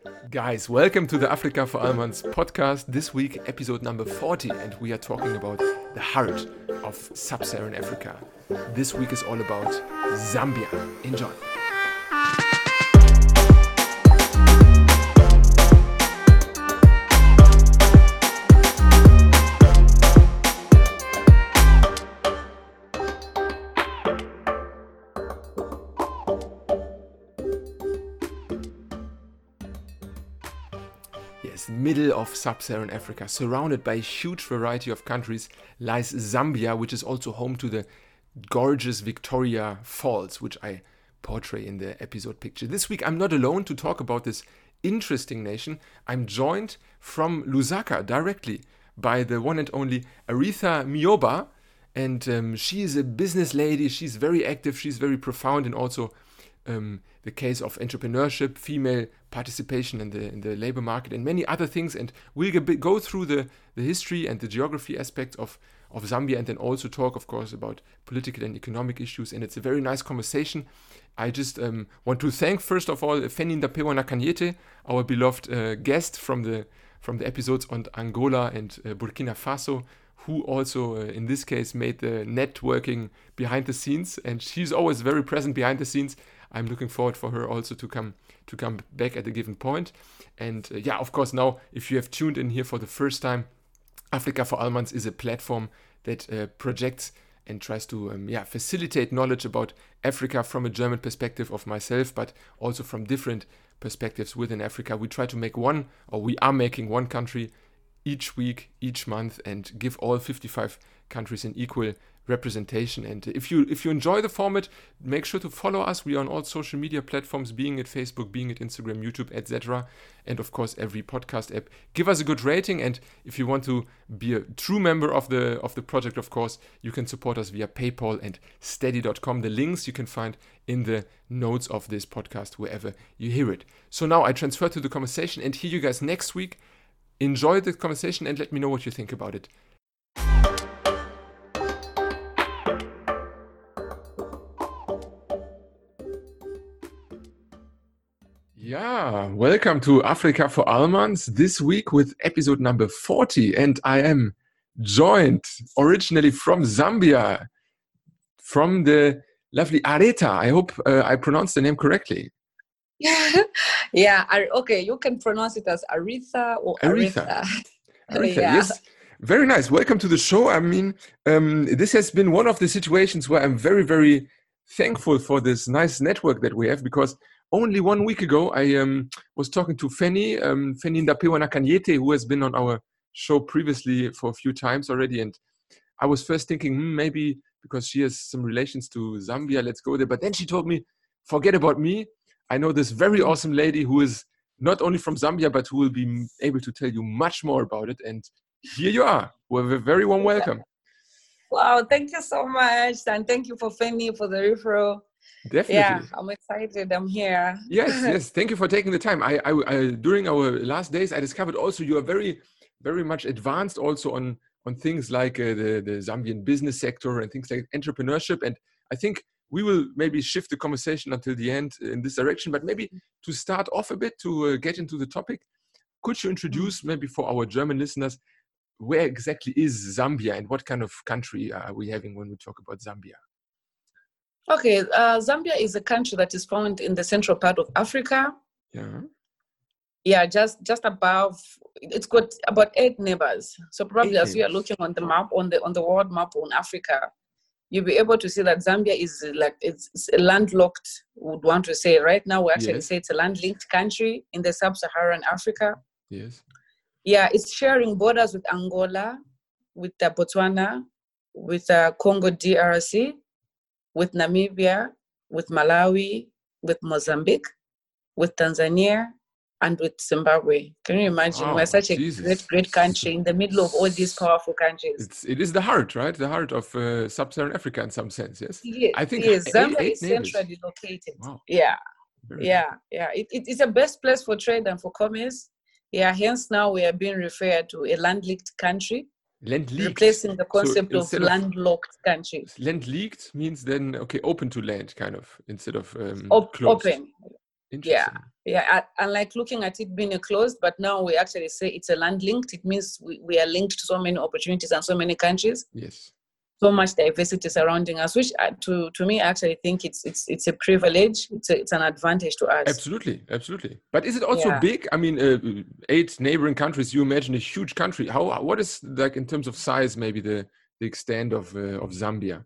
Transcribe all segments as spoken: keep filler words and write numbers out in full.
Guys, welcome to the Africa for Almans podcast. This week, episode number forty, and we are talking about the heart of sub-Saharan Africa. This week is all about Zambia. Enjoy. Yes, middle of sub-Saharan Africa, surrounded by a huge variety of countries, lies Zambia, which is also home to the gorgeous Victoria Falls, which I portray in the episode picture. This week, I'm not alone to talk about this interesting nation. I'm joined from Lusaka directly by the one and only Aretha Myoba, and um, she is a business lady. She's very active. She's very profound, and also um, the case of entrepreneurship, female participation in the in the labor market, and many other things. And we'll go through the, the history and the geography aspects of, of Zambia, and then also talk, of course, about political and economic issues. And it's a very nice conversation. I just um, want to thank, first of all, Fanny Ndapewa Nakanyete, our beloved uh, guest from the from the episodes on Angola and uh, Burkina Faso, who also, uh, in this case, made the networking behind the scenes. And she's always very present behind the scenes. I'm looking forward for her also to come to come back at a given point. And uh, yeah, of course, now, if you have tuned in here for the first time, Africa for Almans is a platform that uh, projects and tries to um, yeah facilitate knowledge about Africa from a German perspective of myself, but also from different perspectives within Africa. We try to make one, or we are making one country each week, each month, and give all fifty-five countries an equal representation. And if you if you enjoy the format, make sure to follow us. We are on all social media platforms, being it Facebook, being it Instagram, YouTube, et cetera, and of course every podcast app. Give us a good rating, and if you want to be a true member of the of the project, of course, you can support us via PayPal and steady dot com. The links you can find in the notes of this podcast wherever you hear it. So now I transfer to the conversation and hear you guys next week. Enjoy the conversation and let me know what you think about it. Yeah, welcome to Africa for Almans, this week with episode number forty, and I am joined originally from Zambia, from the lovely Aretha. I hope uh, I pronounced the name correctly. Yeah, yeah. Okay, you can pronounce it as Aretha or Aretha. Aretha, Aretha yeah. Yes. Very nice. Welcome to the show. I mean, um, this has been one of the situations where I'm very, very thankful for this nice network that we have, because only one week ago, I um, was talking to Fanny, um, Fanny Ndapewa Nakanyete, who has been on our show previously for a few times already. And I was first thinking, hmm, maybe because she has some relations to Zambia, let's go there. But then she told me, forget about me. I know this very awesome lady who is not only from Zambia, but who will be able to tell you much more about it. And here you are. We have a very warm welcome. Wow, thank you so much. And thank you for Fanny for the referral. Definitely. Yeah, I'm excited. I'm here. Yes, yes. Thank you for taking the time. I, I, I, during our last days, I discovered also you are very, very much advanced also on, on things like uh, the, the Zambian business sector and things like entrepreneurship. And I think we will maybe shift the conversation until the end in this direction. But maybe to start off a bit, to uh, get into the topic, could you introduce maybe for our German listeners, where exactly is Zambia and what kind of country are we having when we talk about Zambia? Okay, uh, Zambia is a country that is found in the central part of Africa. Yeah. Yeah, just just above. It's got about eight neighbors. So probably Eight as we are looking on the map, on the on the world map on Africa, you'll be able to see that Zambia is like it's, it's a landlocked. Would want to say right now we actually Yes. say it's a land-linked country in the sub-Saharan Africa. Yes. Yeah, it's sharing borders with Angola, with uh, Botswana, with uh, Congo D R C, with Namibia, with Malawi, with Mozambique, with Tanzania, and with Zimbabwe. Can you imagine? Wow, We're such a Jesus. great, great country in the middle of all these powerful countries. It's, it is the heart, right? The heart of uh, sub-Saharan Africa in some sense, yes? Yes, I think yes. eight- Zambia eight is neighbors. centrally located. Wow. Yeah, Very yeah, yeah. It, it, it's the best place for trade and for commerce. Yeah, hence now we are being referred to a land-linked country, Land-linked. replacing the concept So of instead of- landlocked country. Land-leaked means then, okay, open to land, kind of, instead of um, Op- closed. open. Interesting. Yeah, yeah. Unlike looking at it being a closed, but now we actually say it's a land linked. It means we, we are linked to so many opportunities and so many countries. Yes. So much diversity surrounding us, which uh, to to me, I actually think it's it's it's a privilege. It's a, it's an advantage to us. Absolutely, absolutely. But is it also Yeah. big? I mean, uh, eight neighboring countries. You imagine a huge country. How? What is like in terms of size? Maybe the the extent of uh, of Zambia.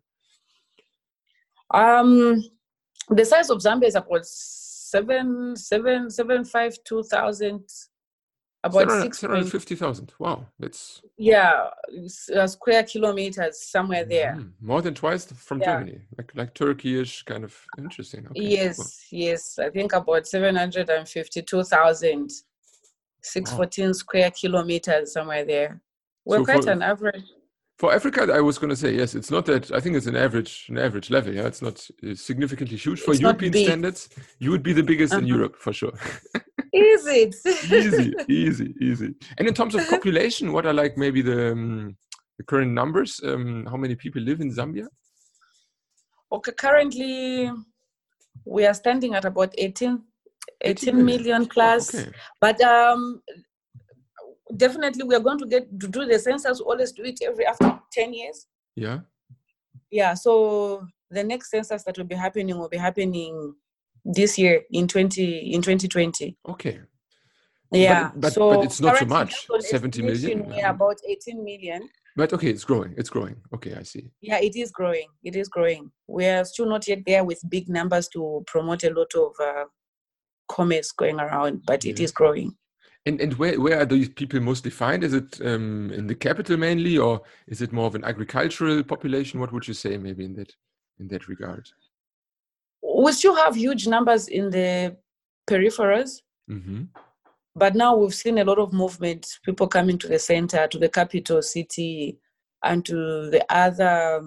Um, the size of Zambia is about seven seven seven five two thousand. About six hundred fifty thousand. Wow, that's yeah, uh, square kilometers somewhere there. Mm-hmm. More than twice from yeah. Germany, like like Turkish, kind of interesting. Okay, yes, cool. yes, I think about seven hundred fifty-two thousand, six hundred fourteen wow. square kilometers somewhere there. We're so quite for, an average. For Africa, I was going to say yes. It's not that. I think it's an average, an average level. Yeah, it's not significantly huge for it's European standards. You would be the biggest uh-huh. in Europe for sure. Is it? easy, easy, easy. And in terms of population, what are like maybe the, um, the current numbers? Um, how many people live in Zambia? Okay, currently we are standing at about eighteen, eighteen million plus. Oh, okay. But um, definitely we are going to get to do the census. Always do it every after ten years. Yeah. Yeah. So the next census that will be happening will be happening this year in twenty in twenty twenty. Okay. Yeah. But, but, so but it's not so much. seventy million. We are about eighteen million. But okay, it's growing. It's growing. Okay, I see. Yeah, it is growing. It is growing. We are still not yet there with big numbers to promote a lot of uh, commerce going around, but yeah. It is growing. And and where, where are these people mostly found? Is it um, in the capital mainly, or is it more of an agricultural population? What would you say maybe in that in that regard? We still have huge numbers in the peripheries, mm-hmm. but now we've seen a lot of movement, people coming to the center, to the capital city, and to the other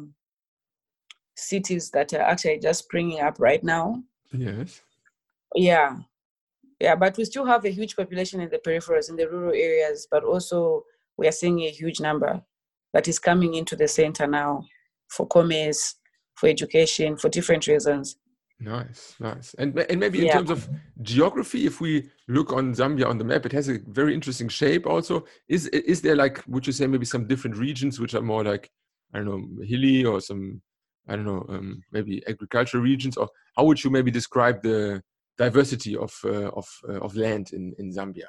cities that are actually just springing up right now. Yes. Yeah. Yeah, but we still have a huge population in the peripheries, in the rural areas, but also we are seeing a huge number that is coming into the center now for commerce, for education, for different reasons. Nice, nice. And, and maybe in yeah. terms of geography, if we look on Zambia on the map, it has a very interesting shape also. Is is there like, would you say maybe some different regions which are more like, I don't know, hilly or some, I don't know, um, maybe agricultural regions? Or how would you maybe describe the diversity of uh, of uh, of land in, in Zambia?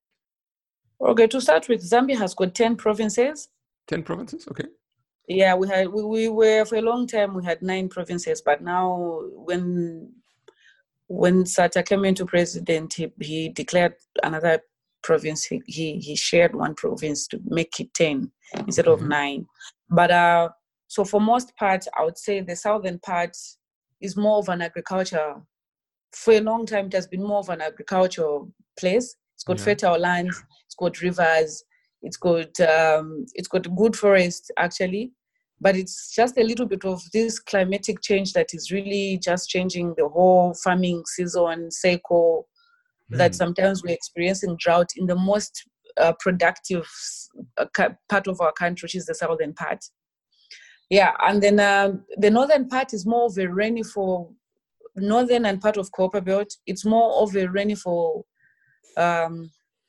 Okay, to start with, Zambia has got ten provinces. ten provinces, okay. Yeah, we had we, we were for a long time we had nine provinces, but now when when Sata came into president, he, he declared another province. He, he he shared one province to make it ten instead mm-hmm. of nine. But uh, so for most part, I would say the southern part is more of an agriculture. For a long time, it has been more of an agricultural place. It's got yeah. fertile land. It's got rivers. It's got um, it's got good forest actually, but it's just a little bit of this climatic change that is really just changing the whole farming season cycle. Mm. That sometimes we're experiencing drought in the most uh, productive uh, part of our country, which is the southern part. Yeah, and then uh, the northern part is more of a rainfall. Northern and part of Copper Belt, it's more of a rainfall um,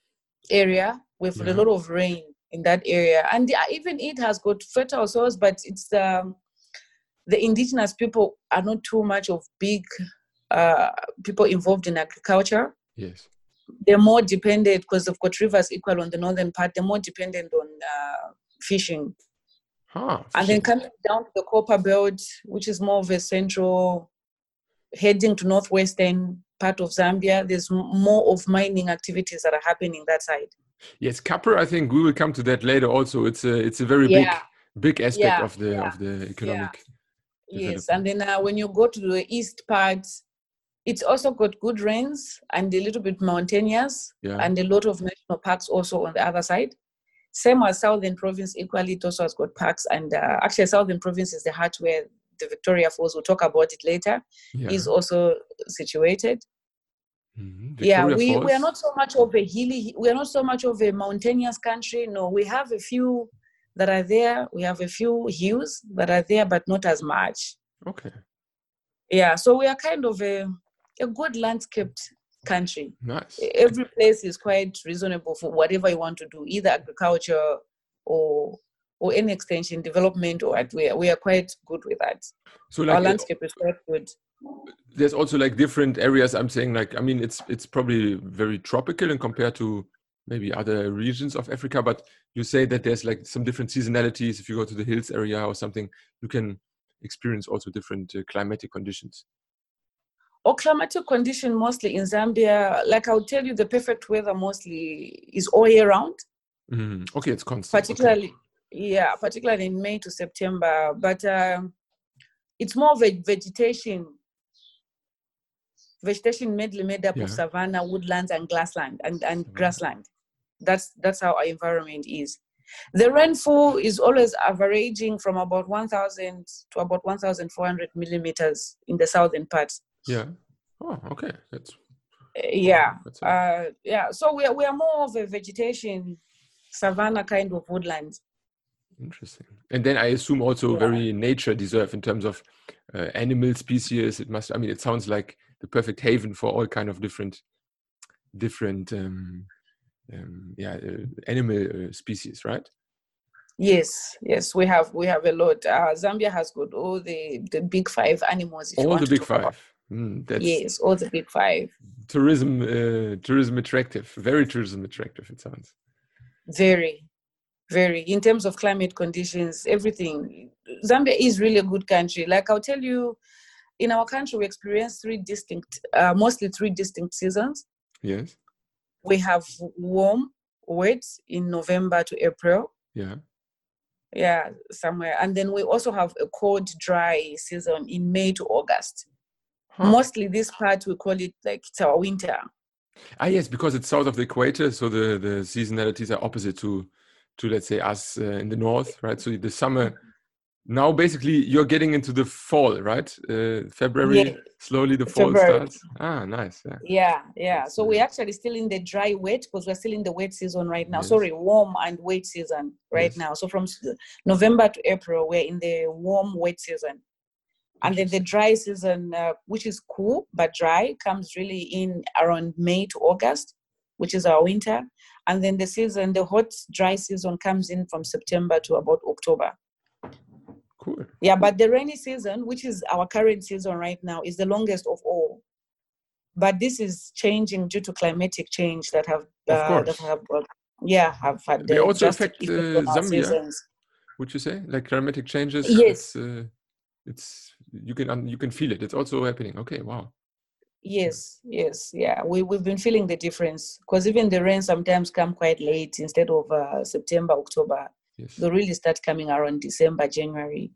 area with yeah. a lot of rain in that area. And the, even it has got fertile soils, but it's um, the indigenous people are not too much of big uh, people involved in agriculture. Yes. They're more dependent, because they've got rivers equal on the northern part, they're more dependent on uh, fishing. Huh, fishing. And then coming down to the Copper Belt, which is more of a central, heading to northwestern part of Zambia, there's more of mining activities that are happening that side. Yes, copper. I think we will come to that later. Also, it's a it's a very yeah. big big aspect yeah. of the yeah. of the economic. Yeah. Yes, and then uh, when you go to the east part, it's also got good rains and a little bit mountainous, yeah. and a lot of national parks also on the other side. Same as Southern Province, equally it also has got parks, and uh, actually Southern Province is the heart where the Victoria Falls, we'll talk about it later, yeah. is also situated. Mm-hmm. Yeah, we, we are not so much of a hilly, we are not so much of a mountainous country. No, we have a few that are there. We have a few hills that are there, but not as much. Okay. Yeah, so we are kind of a, a good landscaped country. Nice. Every place is quite reasonable for whatever you want to do, either agriculture or or any extension development, or at we are, we are quite good with that. So like our landscape is quite good. There's also like different areas. I'm saying like, I mean, it's it's probably very tropical and compared to maybe other regions of Africa, but you say that there's like some different seasonalities. If you go to the hills area or something, you can experience also different uh, climatic conditions. Or climatic condition mostly in Zambia, like I'll tell you, the perfect weather mostly is all year round. Mm, okay, it's constant. Particularly, okay. yeah, particularly in May to September. But um, it's more of a vegetation, vegetation mainly made up Yeah. of savanna, woodlands, and grassland and, and grassland. That's that's how our environment is. The rainfall is always averaging from about one thousand to about one thousand four hundred millimeters in the southern parts. Yeah. Oh, okay. That's yeah. Oh, that's a... uh, yeah. So we are we are more of a vegetation, savanna kind of woodland. Interesting. And then I assume also yeah. very nature deserve in terms of uh, animal species. It must. I mean, it sounds like the perfect haven for all kind of different, different, um, um, yeah, uh, animal uh, species, right? Yes, yes, we have we have a lot. Uh, Zambia has got all the the big five animals. If all you want the to big talk five. About. Mm, that's yes, all the big five. Tourism, uh, tourism attractive. Very tourism attractive. It sounds. Very, very. In terms of climate conditions, everything. Zambia is really a good country. Like I'll tell you, in our country, we experience three distinct, uh, mostly three distinct seasons. Yes. We have warm, wet in November to April. Yeah. Yeah, somewhere. And then we also have a cold, dry season in May to August. Huh. Mostly this part, we call it like it's our winter. Ah, yes, because it's south of the equator, so the, the seasonalities are opposite to, to let's say, us uh, in the north, right? So the summer, now basically you're getting into the fall, right? Uh, February, yeah. Slowly the fall February. starts. Ah, nice. Yeah, yeah. yeah. That's so nice. We're actually still in the dry wet because we're still in the wet season right now. Yes. Sorry, warm and wet season right yes. now. So from November to April, we're in the warm, wet season. And then the dry season, uh, which is cool but dry, comes really in around May to August, which is our winter. And then the season, the hot, dry season comes in from September to about October. Cool. Yeah, cool. but the rainy season, which is our current season right now, is the longest of all. But this is changing due to climatic change that have, uh, that have, uh, yeah, have had. They also drastic affect uh, on our Zambia. Seasons. Would you say, like climatic changes? Yes. It's, uh, it's you can you can feel it. It's also happening. Okay, wow. Yes, yes, yeah. We we've been feeling the difference because even the rain sometimes come quite late instead of uh, September, October. Yes. They really start coming around December, January.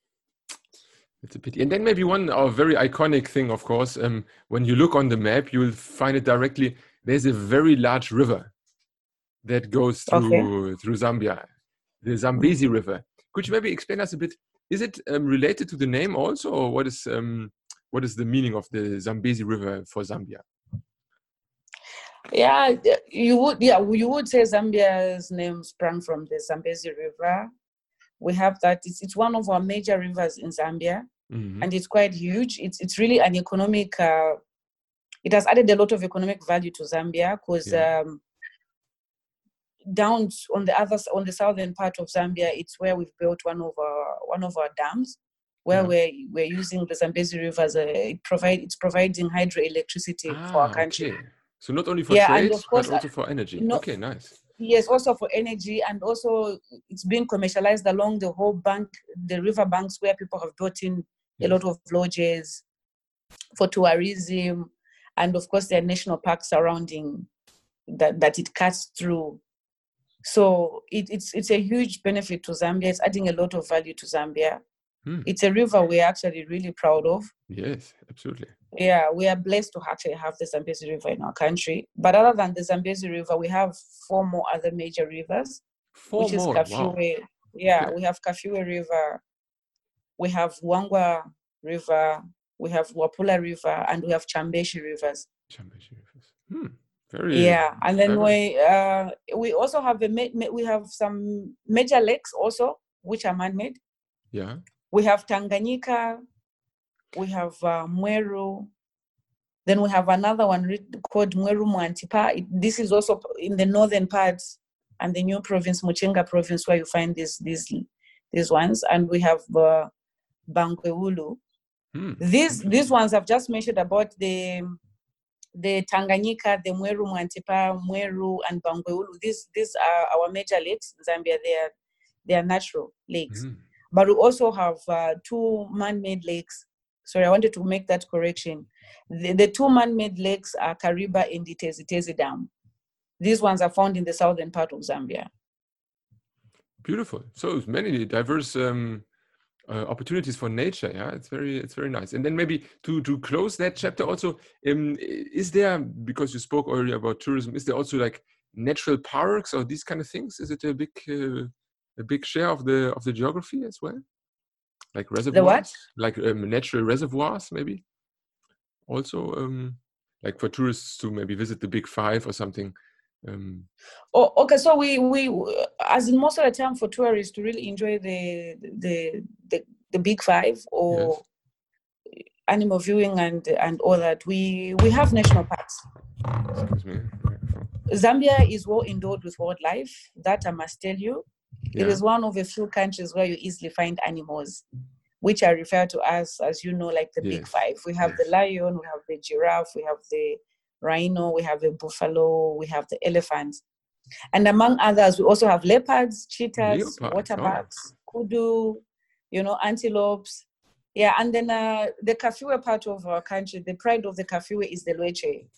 It's a pity. And then maybe one uh, very iconic thing, of course, um, when you look on the map, you'll find it directly. There's a very large river that goes through okay. through Zambia, the Zambezi River. Could you maybe explain us a bit? Is it um, related to the name also, or what is um, what is the meaning of the Zambezi River for Zambia? Yeah, you would. Yeah, you would say Zambia's name sprang from the Zambezi River. We have that. It's it's one of our major rivers in Zambia, mm-hmm. and it's quite huge. It's it's really an economic. Uh, it has added a lot of economic value to Zambia because. Yeah. Um, Down on the other on the southern part of Zambia, it's where we've built one of our one of our dams, where yeah. we're we're using the Zambezi River as a it provide it's providing hydroelectricity ah, for our country. Okay. So not only for yeah, trade, and of course, but also for energy. No, okay, nice. Yes, also for energy, and also it's being commercialized along the whole bank, the river banks, where people have built in yes. a lot of lodges for tourism, and of course there are national parks surrounding that that it cuts through. So it, it's it's a huge benefit to Zambia. It's adding a lot of value to Zambia. Hmm. It's a river we're actually really proud of. Yes, absolutely. Yeah, we are blessed to actually have the Zambezi River in our country. But other than the Zambezi River, we have four more other major rivers. Four which more? is Kafue. Wow. Yeah, okay. we have Kafue River, we have Wangwa River, we have Wapula River, and we have Chambeshi Rivers. Chambeshi Rivers. Hmm. Very yeah, and then clever. we uh, we also have a we have some major lakes also which are man-made. Yeah, we have Tanganyika, we have uh, Mweru, Then we have another one called Mweru Mwantipa. This is also in the northern parts and the new province, Muchinga province, where you find these these these ones. And we have uh, Bangweulu. Hmm. These these ones I've just mentioned about the the Tanganyika, the Mweru Mwantipa, Mweru, and Bangweulu. These these are our major lakes in Zambia. They are they are natural lakes, hmm. but we also have uh, two man-made lakes. Sorry, I wanted to make that correction. The, the two man-made lakes are Kariba and the Tezi Tezi Dam. These ones are found in the southern part of Zambia. Beautiful. So many diverse um, uh, opportunities for nature. Yeah, it's very, it's very nice. And then maybe to to close that chapter, also, um, is there, because you spoke earlier about tourism, is there also like natural parks or these kind of things? Is it a big uh, a big share of the of the geography as well? Like reservoirs, the what? Like um, natural reservoirs, maybe. Also, um, like for tourists to maybe visit the Big Five or something. Um, oh, okay. So we we as in most of the time for tourists to really enjoy the the the, the Big Five or yes. animal viewing and and all that. We we have national parks. Excuse me. Zambia is well endowed with wildlife. That I must tell you. Yeah. It is one of a few countries where you easily find animals, which are referred to as, as you know, like the yes. Big Five. We have yes. the lion, we have the giraffe, we have the rhino, we have the buffalo, we have the elephant. And among others, we also have leopards, cheetahs, Leopards. waterbacks, oh. kudu, you know, antelopes. Yeah, and then uh, the Kafue part of our country, the pride of the Kafue is the Lweche.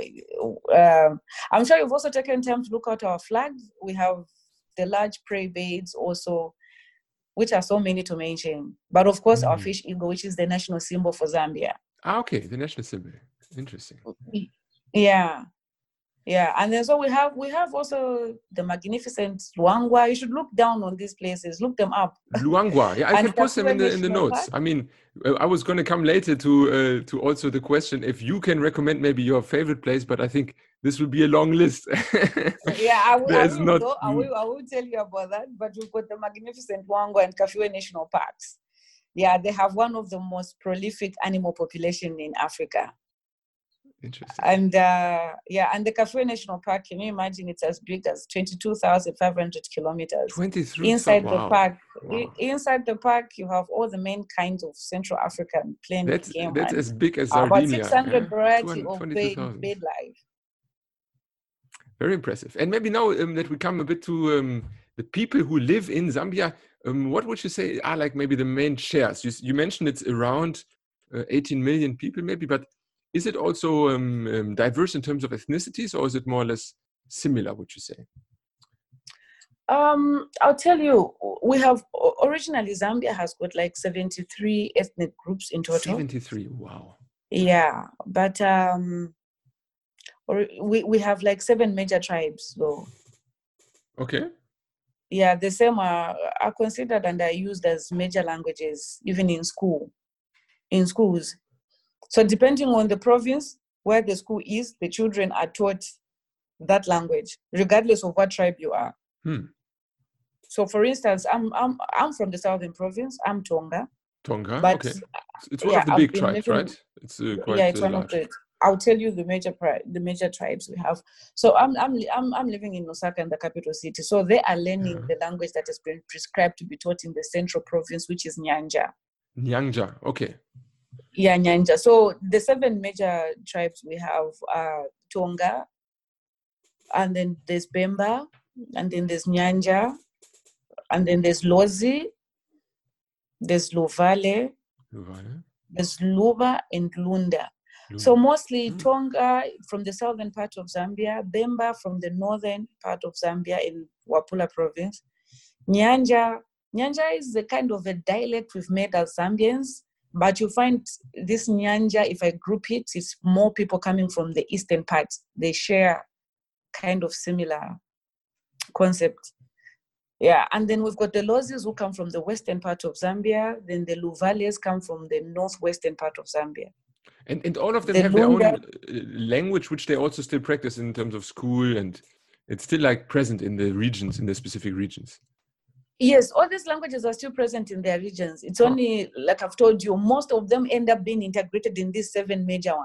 Uh, um, I'm sure you've also taken time to look at our flag. We have the large prey birds also, which are so many to mention. But of course, mm. our fish eagle, which is the national symbol for Zambia. Ah, okay, the national symbol. Interesting. Yeah, yeah. And then so we have we have also the magnificent Luangwa. You should look down on these places, look them up. Luangwa, yeah, I can post them in the in the notes. Park. I mean, I was going to come later to uh, to also the question if you can recommend maybe your favorite place, but I think this will be a long list. yeah, I will, I will, not... though, I will. I will tell you about that. But we've got the magnificent Luangwa and Kafue National Parks. Yeah, they have one of the most prolific animal population in Africa. Interesting. And uh, yeah, and the Kafue National Park, can you imagine it's as big as twenty-two thousand five hundred kilometers. twenty-three Inside wow. the park, wow. inside the park, you have all the main kinds of Central African plant That's, game. that's as big as Sardinia. About six hundred yeah? variety of bird, bird life. Very impressive. And maybe now um, that we come a bit to um, the people who live in Zambia, um, what would you say are like maybe the main shares? You, you mentioned it's around uh, eighteen million people maybe, but is it also um, um, diverse in terms of ethnicities, or is it more or less similar, would you say? Um, I'll tell you, we have, originally Zambia has got like seventy-three ethnic groups in total. seventy-three, wow. Yeah, but um, or we, we have like seven major tribes though. Okay. Yeah, the same are, are considered and are used as major languages, even in school, in schools. So depending on the province where the school is, the children are taught that language, regardless of what tribe you are. Hmm. So for instance, I'm I'm I'm from the southern province. I'm Tonga. Tonga, but, okay. It's one yeah, of the I've big tribes, living, right? It's uh, quite yeah, it's uh, one large. of the. I'll tell you the major the major tribes we have. So I'm I'm I'm I'm living in Lusaka, in the capital city. So they are learning yeah. the language that has been prescribed to be taught in the central province, which is Nyanja. Nyanja, okay. Yeah, Nyanja. So the seven major tribes we have are Tonga, and then there's Bemba, and then there's Nyanja, and then there's Lozi, there's Luvale, Luvale. there's Luba, and Lunda. Lunda. So mostly mm. Tonga from the southern part of Zambia, Bemba from the northern part of Zambia in Wapula province. Nyanja, Nyanja is the kind of a dialect we've made as Zambians. But you find this Nyanja, if I group it, it's more people coming from the eastern part. They share kind of similar concept. Yeah, and then we've got the Lozis who come from the western part of Zambia. Then the Luvales come from the northwestern part of Zambia. And and all of them the have Lunda, their own language, which they also still practice in terms of school, and it's still like present in the regions, in the specific regions. Yes, all these languages are still present in their regions. It's only, like I've told you, most of them end up being integrated in these seven major ones.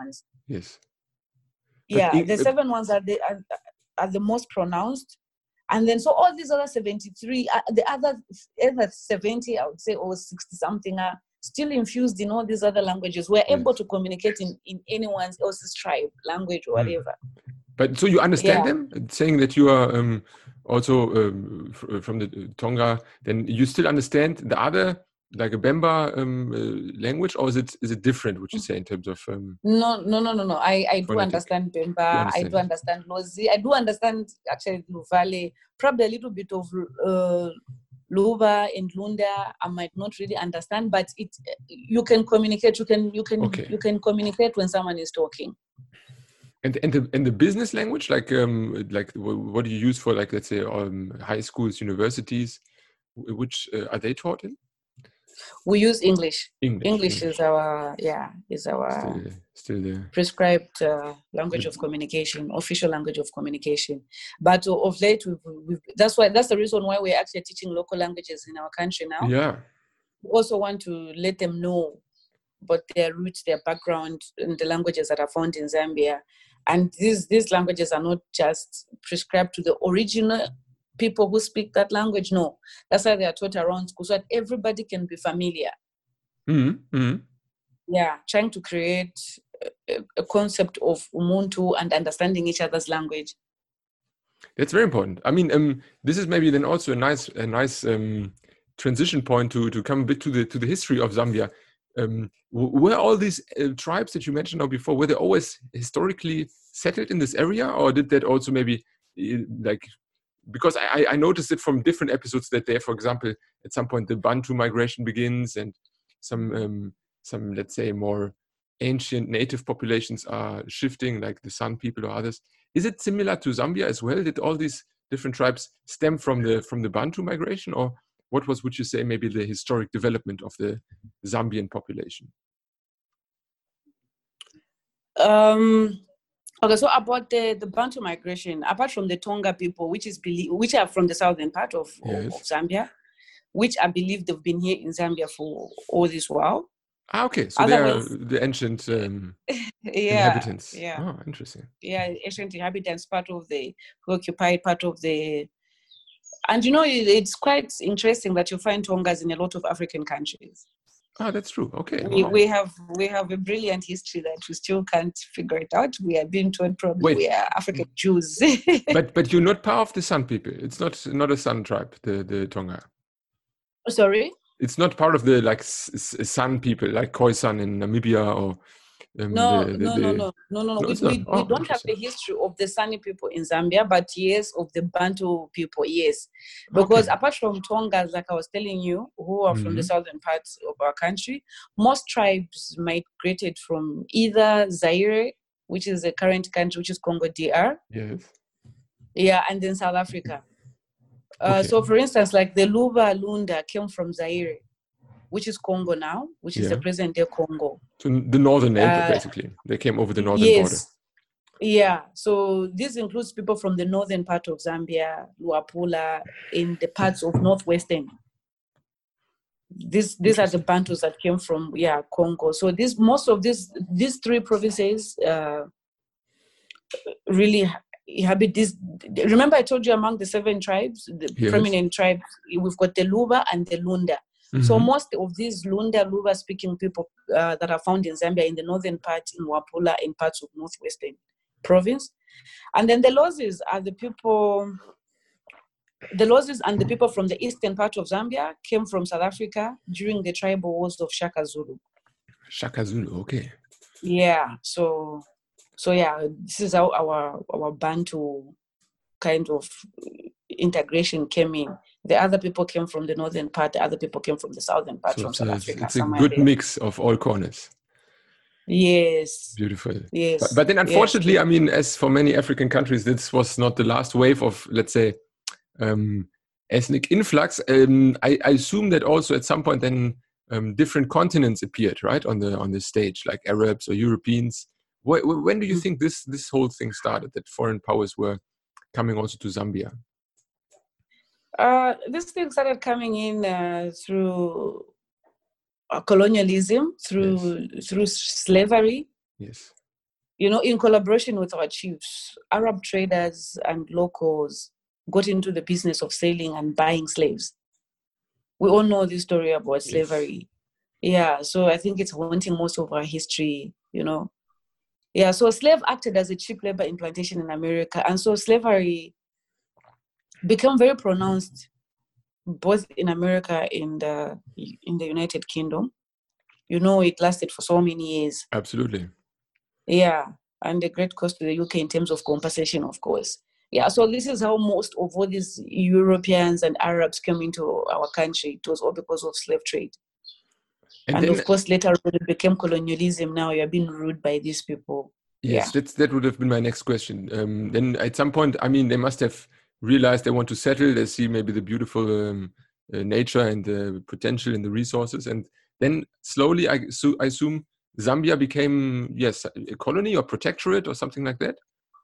Yes. Yeah, in, the seven ones are the are, are the most pronounced, and then so all these other seventy-three, uh, the other other seventy, I would say, or sixty something are still infused in all these other languages. We're yes. able to communicate in in anyone else's tribe, language, or whatever. Mm. But so you understand Yeah. them, saying that you are um, also um, f- from the Tonga, then you still understand the other, like a Bemba um, uh, language, or is it is it different, what you say, in terms of um, No, no, no, no, no. I, I do phonetic? understand Bemba. understand I do it. understand Lozi. I do understand actually Luvale. Probably a little bit of uh, Luva and Lunda. I might not really understand, but it you can communicate. You can you can Okay. you can communicate when someone is talking. And and the and the business language, like um like what do you use for, like, let's say um high schools, universities, which uh, are they taught in? We use English. English. English, English. is our yeah is our still still the prescribed uh, language of communication, official language of communication. But of late, we've, we've, that's why that's the reason why we're actually teaching local languages in our country now. Yeah. We also want to let them know about their roots, their background, and the languages that are found in Zambia. And these these languages are not just prescribed to the original people who speak that language. No, that's why they are taught around school so that everybody can be familiar. Mm-hmm. Mm-hmm. Yeah, trying to create a, a concept of Ubuntu and understanding each other's language. That's very important. I mean, um, this is maybe then also a nice, a nice um, transition point to to come a bit to the to the history of Zambia. Um, were all these uh, tribes that you mentioned now before, were they always historically settled in this area, or did that also maybe uh, like? Because I, I noticed it from different episodes that there, for example, at some point the Bantu migration begins, and some um, some let's say more ancient native populations are shifting, like the San people or others. Is it similar to Zambia as well? Did all these different tribes stem from the from the Bantu migration, or what was, would you say, maybe the historic development of the Zambian population? Um, okay, so about the, the Bantu migration, apart from the Tonga people, which is believe, which are from the southern part of, Yes. of, of Zambia, which I believe they've been here in Zambia for all this while. Ah, okay. So they are the ancient um, yeah, inhabitants. Yeah. Oh, interesting. Yeah, ancient inhabitants, part of the who occupied part of the. And you know, it's quite interesting that you find Tongas in a lot of African countries. Ah, that's true. Okay. We, Wow. we have we have a brilliant history that we still can't figure it out. We are being told probably Wait. we are African Jews. but but you're not part of the San people. It's not not a San tribe, the the Tonga. Sorry? It's not part of the like San people, like Khoisan in Namibia, or um, no, the, the, no, the... no, no, no, no, no. We, we, oh, we don't have the history of the Sani people in Zambia, but yes, of the Bantu people, yes. Because okay. apart from Tongas, like I was telling you, who are mm-hmm. from the southern parts of our country, most tribes migrated from either Zaire, which is the current country, which is Congo D R. Yes. Yeah, and then South Africa. Uh, okay. So, for instance, like the Luva Lunda came from Zaire, which is Congo now, which is yeah. the present-day Congo. So the northern neighbor, uh, basically. They came over the northern yes. border. Yeah. So this includes people from the northern part of Zambia, Luapula, in the parts of northwestern. These these are the Bantus that came from yeah Congo. So this most of these these three provinces uh, really inhabit this. Remember, I told you among the seven tribes, the yes. prominent tribes, we've got the Luba and the Lunda. Mm-hmm. So most of these Lunda, Luba speaking people uh, that are found in Zambia in the northern part, in Wapula, in parts of northwestern province. And then the Lozis are the people, the Lozis and the people from the eastern part of Zambia came from South Africa during the tribal wars of Shaka Zulu. Shaka Zulu, okay. Yeah, so, so yeah, this is how our, our Bantu kind of integration came in. The other people came from the northern part, the other people came from the southern part, so from South it's, Africa. It's a good there. mix of all corners. Yes. Beautiful. Yes. But, but then unfortunately, yes. I mean, as for many African countries, this was not the last wave of, let's say, um, ethnic influx. Um, I, I assume that also at some point then um, different continents appeared, right, on the on the stage, like Arabs or Europeans. Wh- when do you think this this whole thing started, that foreign powers were coming also to Zambia? Uh, this thing started coming in uh, through uh, colonialism, through yes. through slavery. Yes. you know, in collaboration with our chiefs, Arab traders and locals got into the business of selling and buying slaves. We all know this story about slavery. Yes. Yeah, so I think it's haunting most of our history, you know. Yeah, so slave acted as a cheap labor in plantation in America. And so slavery became very pronounced both in America and uh, in the United Kingdom. You know, it lasted for so many years. Absolutely. Yeah, and a great cost to the U K in terms of compensation, of course. Yeah, so this is how most of all these Europeans and Arabs came into our country. It was all because of slave trade. And, and then, of course, later when it became colonialism, now you're being ruled by these people. Yes, yeah. that's, that would have been my next question. Um, then at some point, I mean, they must have realized they want to settle. They see maybe the beautiful um, uh, nature and the potential and the resources. And then slowly, I, so, I assume, Zambia became, yes, a colony or protectorate or something like that?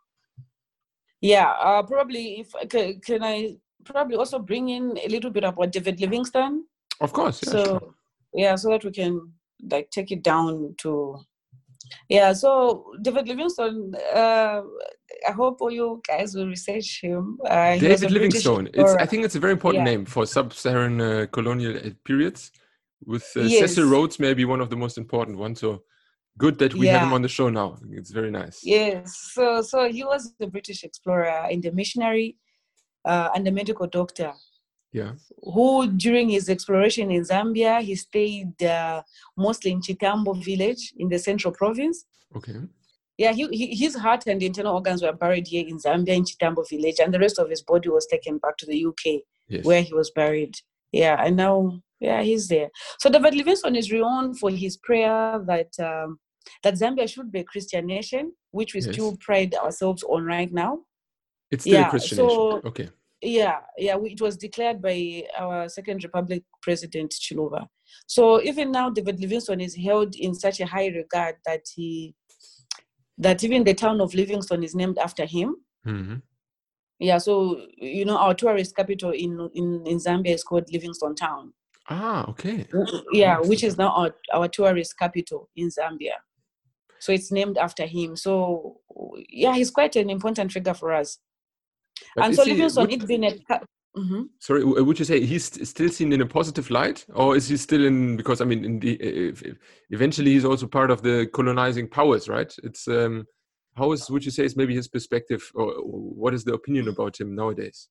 Yeah, uh, probably. If can, can I probably also bring in a little bit about David Livingstone? Of course, yeah. So, sure. yeah, so that we can like take it down to, yeah. So David Livingstone, uh, I hope all you guys will research him. Uh, David Livingstone. It's, I think it's a very important yeah. name for sub-Saharan uh, colonial periods. With uh, yes. Cecil Rhodes, maybe one of the most important ones. So good that we yeah. have him on the show now. It's very nice. Yes. So, so he was a British explorer and a missionary uh, and a medical doctor. Yeah. Who, during his exploration in Zambia, he stayed uh, mostly in Chitambo village in the central province. Okay. Yeah, he, he, his heart and internal organs were buried here in Zambia in Chitambo village, and the rest of his body was taken back to the U K, yes. where he was buried. Yeah, and now, yeah, he's there. So David Livingstone is renowned for his prayer that um, that Zambia should be a Christian nation, which we yes. still pride ourselves on right now. It's still yeah, a Christian so, nation. Okay. Yeah, yeah, we, it was declared by our Second Republic President Chiluba. So even now, David Livingstone is held in such a high regard that he, that even the town of Livingstone is named after him. Mm-hmm. Yeah, so you know our tourist capital in in, in Zambia is called Livingstone Town. Ah, okay. Yeah, which is now our, our tourist capital in Zambia. So it's named after him. So yeah, he's quite an important figure for us. But and so he, Livingstone, would, it's been a... Mm-hmm. Sorry, would you say he's still seen in a positive light? Or is he still in... Because, I mean, in the, if, if eventually he's also part of the colonizing powers, right? It's um, how is, would you say, is maybe his perspective, or what is the opinion about him nowadays?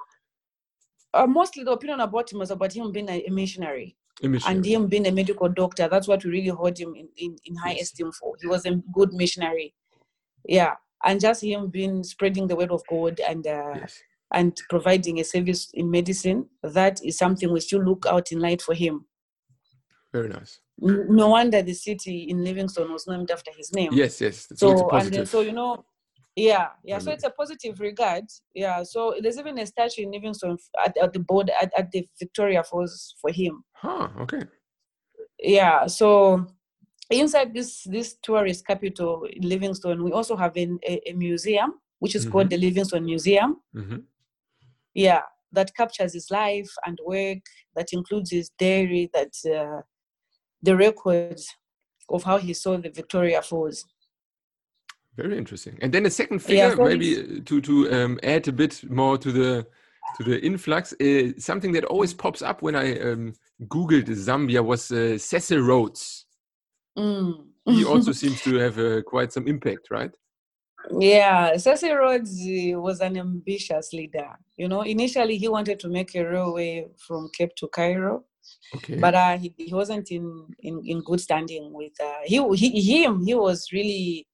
Uh, mostly the opinion about him was about him being a, a missionary. A missionary. And him being a medical doctor. That's what we really hold him in, in, in high yes. esteem for. He was a good missionary. Yeah. And just him being spreading the word of God and uh, yes. and providing a service in medicine, that is something we still look out in light for him. Very nice. No wonder the city in Livingstone was named after his name. Yes, yes. So, so, and then, so you know, yeah, yeah. So it's a positive regard. Yeah. So there's even a statue in Livingstone at, at the board at, at the Victoria Falls for him. Huh. Okay. Yeah. So inside this this tourist capital in Livingstone, we also have a, a museum which is mm-hmm. called the Livingstone Museum. Mm-hmm. Yeah, that captures his life and work. That includes his diary. That uh, the records of how he saw the Victoria Falls. Very interesting. And then a second figure, yeah, so maybe to to um, add a bit more to the to the influx. Uh, something that always pops up when I um, googled Zambia was uh, Cecil Rhodes. Mm. He also seems to have uh, quite some impact, right? Yeah, Cecil Rhodes was an ambitious leader. You know, initially he wanted to make a railway from Cape to Cairo. Okay. But uh, he, he wasn't in, in, in good standing with uh, he, he him. He was really,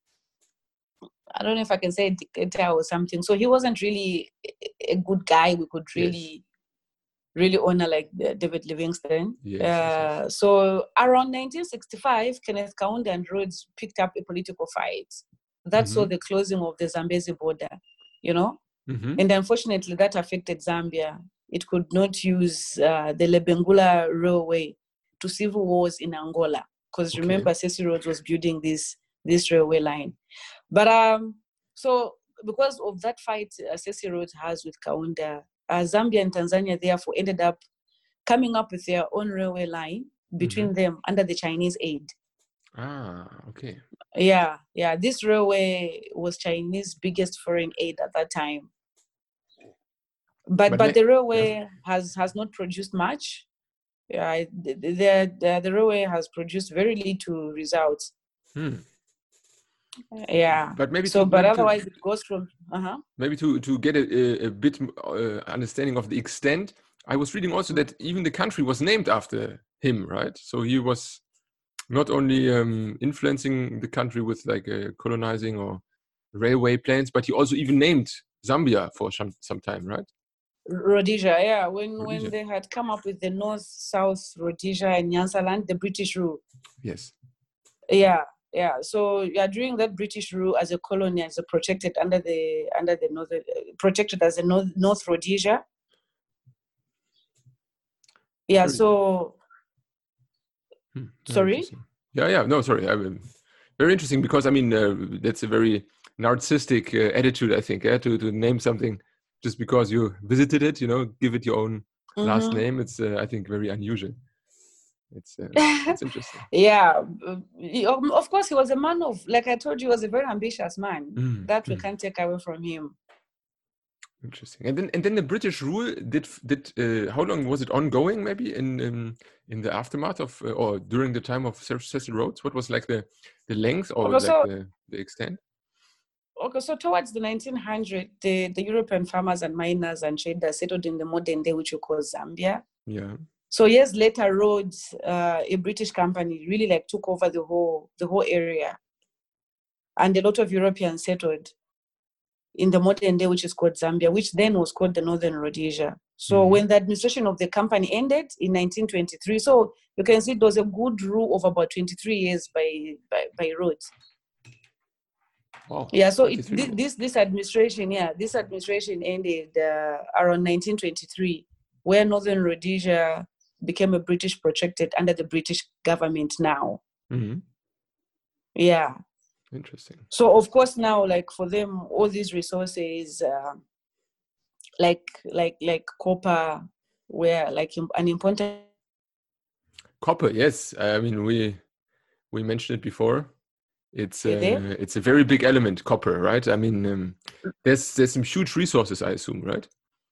I don't know if I can say a dictator or something. So he wasn't really a good guy we could really, yes. really honor like David Livingstone. Yes, uh, yes, yes. So around nineteen sixty-five, Kenneth Kaunda and Rhodes picked up a political fight. That mm-hmm. saw the closing of the Zambezi border, you know? Mm-hmm. And unfortunately, that affected Zambia. It could not use uh, the Lebengula Railway to civil wars in Angola. Because okay. remember, Cecil Rhodes was building this, this railway line. But um, so because of that fight uh, Cecil Rhodes has with Kaunda, uh, Zambia and Tanzania therefore ended up coming up with their own railway line between mm-hmm. them under the Chinese aid. Ah, okay. Yeah, yeah. This railway was Chinese biggest foreign aid at that time. But But but, ma- the railway yeah. has has not produced much. Yeah, the the, the, the railway has produced very little results. Hmm. Yeah. But maybe So, to but maybe to otherwise, it goes from. Uh-huh. maybe to to get a, a, a bit uh, understanding of the extent. I was reading also that even the country was named after him, right? So he was not only um, influencing the country with like uh, colonizing or railway plans, but he also even named Zambia for some some time, right? Rhodesia, yeah. When Rhodesia. when they had come up with the North-South Rhodesia and Nyansaland, the British rule. Yes. Yeah, yeah. So yeah, during that British rule, as a colony, as a protected under the under the northern uh, protected as a North, North Rhodesia. Yeah. Very, So hmm, very sorry. interesting. Yeah, yeah. No, sorry. I mean, very interesting because I mean uh, that's a very narcissistic uh, attitude, I think, yeah, to to name something just because you visited it. You know, give it your own last Mm-hmm. name. It's uh, I think very unusual. It's uh, it's interesting. Yeah, uh, he- of of course, he was a man of, like I told you, he was a very ambitious man. Mm, That we mm. can't take away from him. Interesting. And then and then the British rule did did uh, how long was it ongoing? Maybe in in, in the aftermath of uh, or during the time of Cecil Cecil Rhodes? What was like the the length or Okay, like so the the extent? okay, so towards the nineteen hundreds, the, the European farmers and miners and traders settled in the modern day, which we call Zambia. Yeah. So years later, Rhodes, uh, a British company, really like took over the whole the whole area, and a lot of Europeans settled in the modern day, which is called Zambia, which then was called the Northern Rhodesia. So Mhm. when the administration of the company ended in nineteen twenty-three, so you can see it was a good rule of about twenty-three years by by, by Rhodes. Wow. Yeah, so it, twenty-three this, more. this this administration, yeah, this administration ended uh, around nineteen twenty-three, where Northern Rhodesia became a British protectorate under the British government now. Mhm. Yeah. Interesting. So of course now, like for them, all these resources, uh, like like like copper, were like im- an important. Copper, yes. I mean we we mentioned it before. It's Are you there? uh, it's a very big element, copper, right? I mean um, there's there's some huge resources, I assume, right?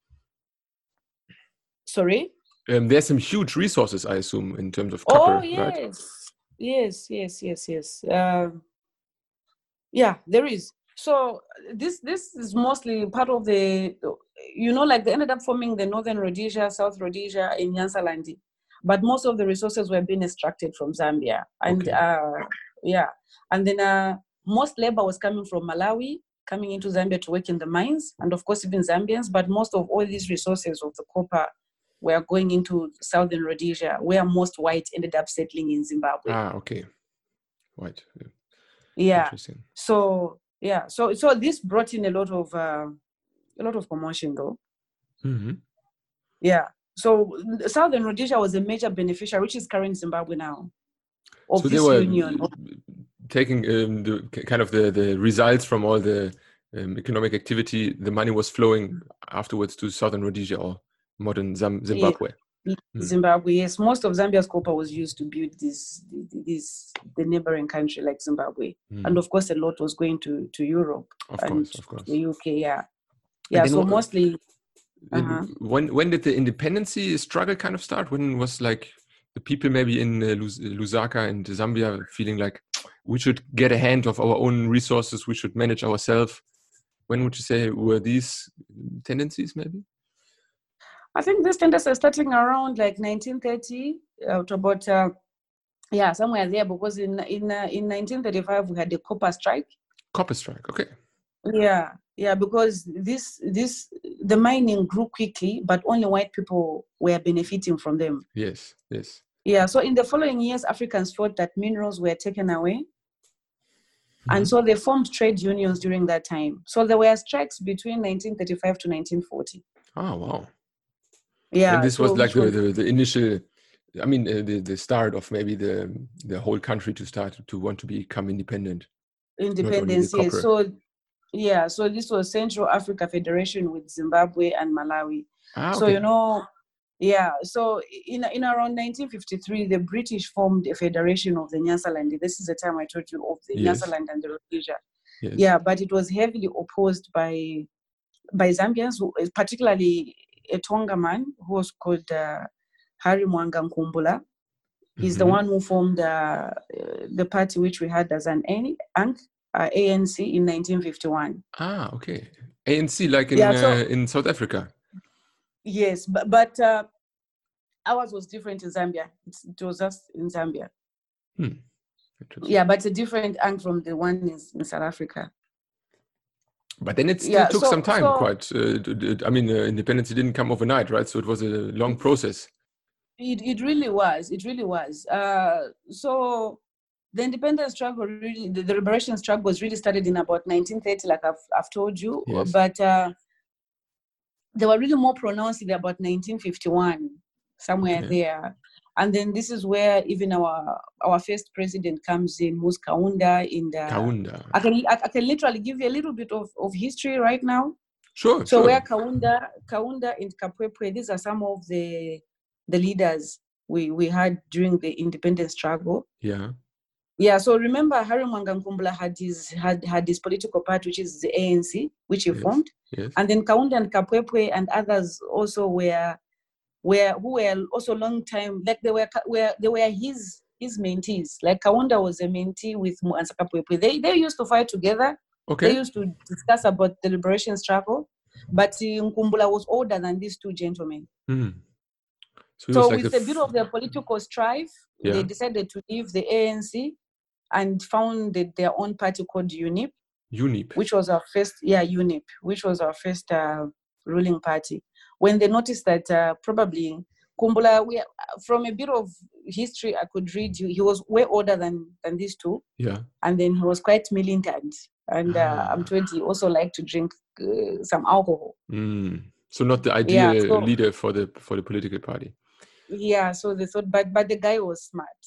Sorry. Um, there's some huge resources, I assume, in terms of Oh copper, right? yes, yes, yes, yes, yes. Um, yeah, there is. So this this is mostly part of the, you know, like they ended up forming the Northern Rhodesia, South Rhodesia in Nyansaland, but most of the resources were being extracted from Zambia, and Okay. uh, yeah, and then uh, most labor was coming from Malawi, coming into Zambia to work in the mines, and of course even Zambians. But most of all these resources of the copper were going into Southern Rhodesia, where most whites ended up settling in Zimbabwe. Ah, okay. Right. Yeah. Yeah. Interesting. So yeah, so so this brought in a lot of uh, a lot of commotion, though. Mm-hmm. Yeah. So Southern Rhodesia was a major beneficiary, which is current Zimbabwe now, of So they this were union. taking um, the kind of the, the results from all the um, economic activity. The money was flowing afterwards to Southern Rhodesia or modern Zam- Zimbabwe. Yeah. Mm. Zimbabwe, yes. Most of Zambia's copper was used to build this, this the neighboring country like Zimbabwe, Mm. and of course, a lot was going to to Europe Of and course, of course. the U K. Yeah, And yeah. then So wh- mostly. then Uh-huh. when when did the independency struggle kind of start? When was like the people maybe in uh, Lus- Lusaka and Zambia feeling like we should get a hand of our own resources, we should manage ourselves? When would you say were these tendencies maybe? I think this tendency is starting around like nineteen thirty uh, to about uh, yeah, somewhere there, because in in uh, in nineteen thirty-five we had the copper strike. Copper strike, okay. Yeah, yeah, because this this the mining grew quickly, but only white people were benefiting from them. Yes, yes. Yeah, so in the following years, Africans felt that minerals were taken away, Mm-hmm. and so they formed trade unions during that time. So there were strikes between nineteen thirty-five to nineteen forty. Oh, wow. Yeah, And this so was like which the, was the, the initial, I mean, uh, the, the start of maybe the the whole country to start to want to become independent. independence. Yes, so yeah, so this was Central Africa Federation with Zimbabwe and Malawi. Ah, So okay. you know, Yeah, so in in around nineteen fifty-three, the British formed a federation of the Nyasaland. This is the time I told you of the Yes. Nyasaland and the Rhodesia. Yes. Yeah, but it was heavily opposed by by Zambians, who, particularly a Tonga man who was called uh, Harry Mwanga Nkumbula. He's the Mhm. one who formed uh, the party which we had as an A N C, uh, A N C in nineteen fifty-one. Ah, okay. A N C, like in Yeah, so- uh, in South Africa. Yes, but but uh, ours was different in Zambia. It's, it was just in Zambia. Hmm. Interesting. Yeah, but it's a different angle from the one in, in South Africa. But then it still Yeah, took so- some time. so- Quite. Uh, d- d- I mean, uh, independence didn't come overnight, right? So it was a long process. It it really was. It really was. Uh, so the independence struggle, really, the, the liberation struggle was really started in about nineteen thirty, like I've I've told you. Yes. But uh, they were really more pronounced in about nineteen fifty-one, somewhere Okay. there. And then this is where even our our first president comes in, who's Kaunda. In the Kaunda. I can I, I can literally give you a little bit of, of history right now. Sure. So sure. where Kaunda, Kaunda and Kapwepwe, these are some of the the leaders we, we had during the independence struggle. Yeah. Yeah, so remember Harry Mwanga Nkumbula had his had, had his political party, which is the A N C, which he Yes. formed. Yes. And then Kaunda and Kapwepwe and others also were were who were also long time, like they were were they were his his mentees. Like Kaunda was a mentee with Mwanza Kapwepwe. They they used to fight together. Okay. They used to discuss about the liberation struggle, but uh, Nkumbula was older than these two gentlemen. Hmm. So, So like with the a bit of their political strife, Yeah. they decided to leave the A N C and founded their own party called U N I P, U N I P. which was our first, yeah, U N I P, which was our first uh, ruling party. When they noticed that uh, probably Kumbula, we, from a bit of history I could read, you, he was way older than, than these two. Yeah. And then he was quite militant. And uh, Ah. I'm told he also liked to drink uh, some alcohol. Mm. So not the ideal Yeah, so- leader for the for the political party. Yeah, so they thought, but but the guy was smart.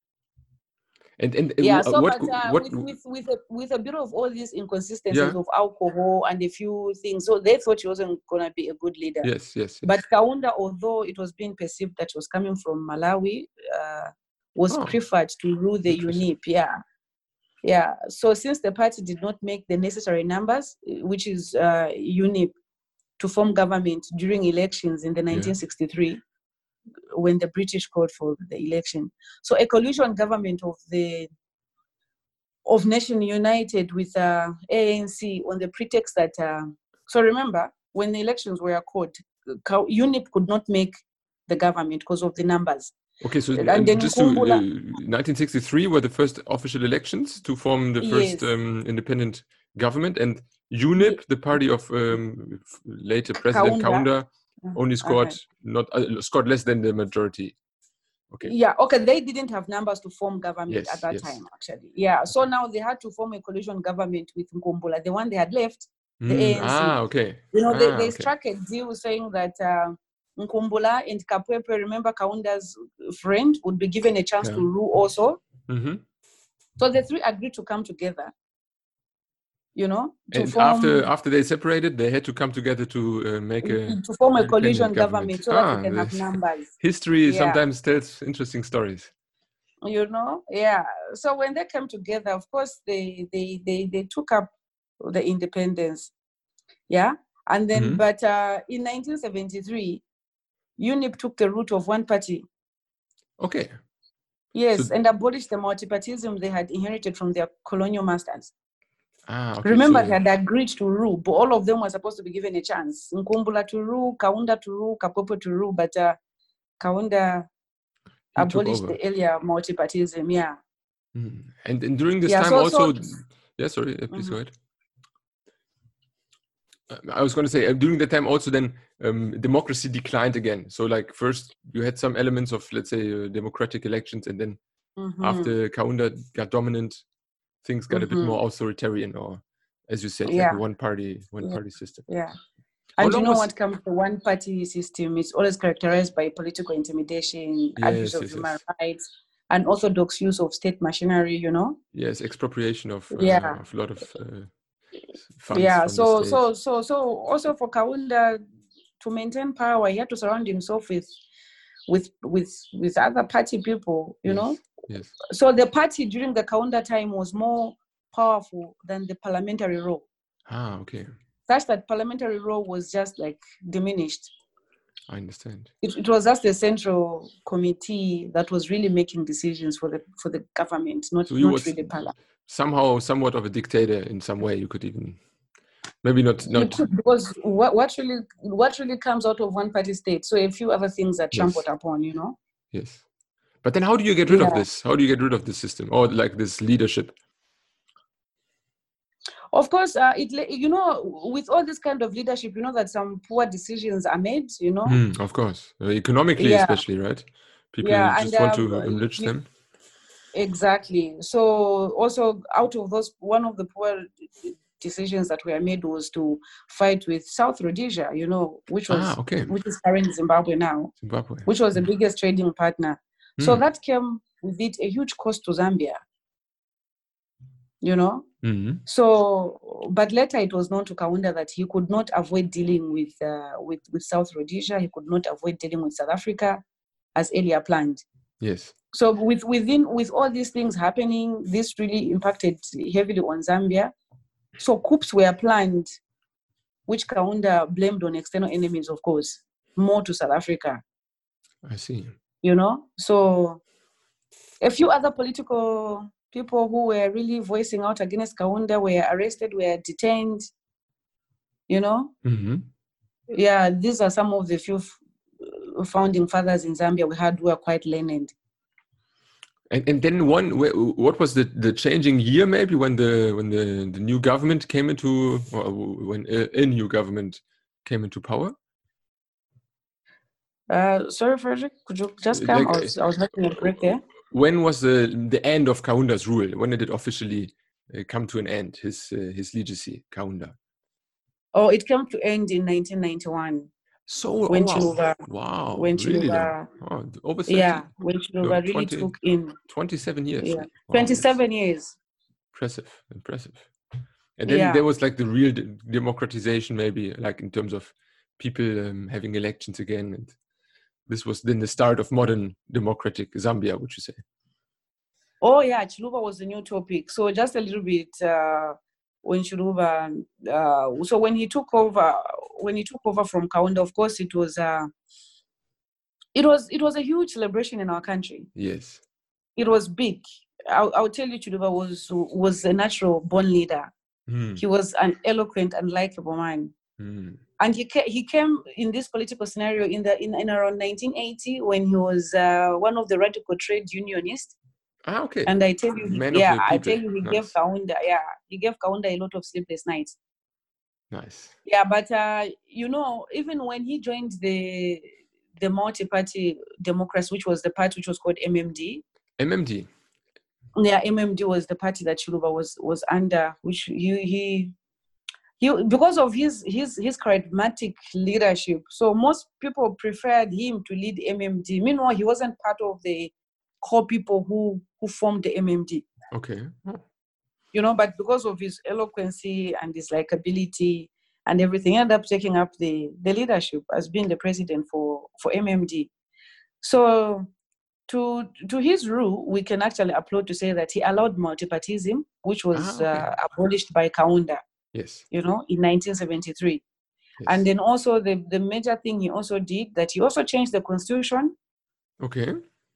And and uh, Yeah, wh- so what but uh, what with with with a, with a bit of all these inconsistencies Yeah. of alcohol and a few things, so they thought he wasn't gonna be a good leader. yes yes, yes. But Kaunda, although it was being perceived that he was coming from Malawi, uh, was Oh, preferred to rule the U N I P. Yeah, yeah. So since the party did not make the necessary numbers, uh, which is uh, U N I P, to form government during elections in the nineteen sixty-three, when the British called for the election. So a coalition government of the of Nation United with uh, A N C on the pretext that, uh, so remember, when the elections were called, Ka- U N I P could not make the government because of the numbers. okay. So And and then just to Nkumbula- uh, nineteen sixty-three were the first official elections to form the first Yes. um, independent government, and U N I P, the party of um, f- later President Kaunda. Kaunda, only scored Okay. not uh, scored less than the majority. Okay. Yeah, okay, they didn't have numbers to form government Yes, at that yes. time, actually. Yeah, so now they had to form a coalition government with Nkumbula, the one they had left, the Mm, A N C. ah, okay. You know, they, Ah, they okay. struck a deal saying that uh, Nkumbula and Kapwepwe, remember Kaunda's friend, would be given a chance Yeah. to rule also. hmm So the three agreed to come together, you know, to And form after after they separated, they had to come together to uh, make a to form a independent coalition government. government, so that Ah, we can have this- numbers. history Yeah. sometimes tells interesting stories. You know, yeah. So when they came together, of course, they they they they took up the independence, yeah. And then, Mhm. but uh, in nineteen seventy-three, U N I P took the route of one party. Okay. Yes, So- and abolished the multipartyism they had inherited from their colonial masters. Ah, okay. Remember, so- they had agreed to rule, but all of them were supposed to be given a chance. Nkumbula to rule, Kaunda to rule, Kapopo to rule, but uh, Kaunda he took abolished over. the earlier multipartyism. Yeah. Mm. And, and during this Yeah, time so- also, so- yeah, sorry, uh, please Mhm. go ahead. Uh, I was going to say uh, during that time also then um, democracy declined again. So like first you had some elements of let's say uh, democratic elections, and then Mhm. after Kaunda got dominant, things got a bit Mhm. more authoritarian, or as you said, Yeah. like a one party one Yeah. party system. Yeah. How And you long know was- what comes to one party system? It's always characterized by political intimidation, abuse Yes, of yes, human yes. rights, and orthodox use of state machinery, you know? Yes, expropriation of uh, Yeah. of a lot of uh, funds Yeah, from so the state. so so so also for Kaunda, to maintain power, he had to surround himself with with with with other party people, you yes. know. Yes. So the party during the Kaunda time was more powerful than the parliamentary role. Ah, okay. Such that parliamentary role was just like diminished. I understand. It, it was just the central committee that was really making decisions for the for the government, not, So he not was really parliament. somehow somewhat of a dictator in some way. You could even maybe not You not could, because what, what really what really comes out of one party state. So a few other things are trampled yes. upon, you know. Yes. But then how do you get rid Yeah. of this? How do you get rid of this system or like this leadership? Of course, uh, it you know, with all this kind of leadership, you know that some poor decisions are made, you know. Mm, of course, uh, economically, Yeah. especially, right? People Yeah, just and want um, to enrich we- them. Exactly. So also out of those, one of the poor decisions that were made was to fight with South Rhodesia, you know, which was Ah, okay. which is current Zimbabwe now, Zimbabwe. which was the biggest trading partner. So Mm. that came with it a huge cost to Zambia, you know. Mm-hmm. So, but later it was known to Kaunda that he could not avoid dealing with uh, with with South Rhodesia. He could not avoid dealing with South Africa, as earlier planned. Yes. So with within with all these things happening, this really impacted heavily on Zambia. So coups were planned, which Kaunda blamed on external enemies, of course, more to South Africa. I see. You know, so a few other political people who were really voicing out against Kaunda were arrested, were detained. You know, Mm-hmm. yeah, these are some of the few f- founding fathers in Zambia we had who are quite learned. And and then one, what was the, the changing year maybe when the when the, the new government came into or when a, a new government came into power? Uh, sorry, Frederick, could you just come? Like, I was I was making a break there. When was the the end of Kaunda's rule? When did it officially uh, come to an end? His uh, his legacy, Kaunda. Oh, it came to end in nineteen ninety-one. So when oh, wow, Chiluba, wow, when really Chiluba, long. Oh, over thirty. yeah, when Chiluba no, really twenty, took in, twenty-seven years. yeah, Wow, twenty-seven years. Impressive, impressive. And then Yeah. there was like the real de- democratization, maybe like in terms of people um, having elections again, and this was then the start of modern democratic Zambia, would you say? Oh yeah, Chiluba was a new topic. So just a little bit uh, when Chiluba, uh, so when he took over, when he took over from Kaunda, of course it was, uh, it was, it was a huge celebration in our country. Yes. It was big. I'll, I'll tell you, Chiluba was was a natural born leader. Mm. He was an eloquent and likable man. Mm. And he ca- he came in this political scenario in the in, in around nineteen eighty when he was uh, one of the radical trade unionists. Ah, okay. And I tell you, he, Man yeah, of the I people. tell you, he Nice. gave Kaunda, yeah, he gave Kaunda a lot of sleepless nights. Nice. Yeah, but uh, you know, even when he joined the the multi-party democracy, which was the party which was called M M D. M M D. Yeah, M M D was the party that Chiluba was was under, which he he he because of his his his charismatic leadership. So most people preferred him to lead M M D. Meanwhile, he wasn't part of the core people who who formed the M M D. Okay. Oh. You know, but because of his eloquency and his likability and everything, he ended up taking up the the leadership as being the president for for M M D. So to to his rule, we can actually applaud to say that he allowed multipartism, which was Ah, okay. uh, abolished by Kaunda. Yes. You know, in nineteen seventy-three. Yes. And then also the, the major thing he also did, that he also changed the constitution. Okay.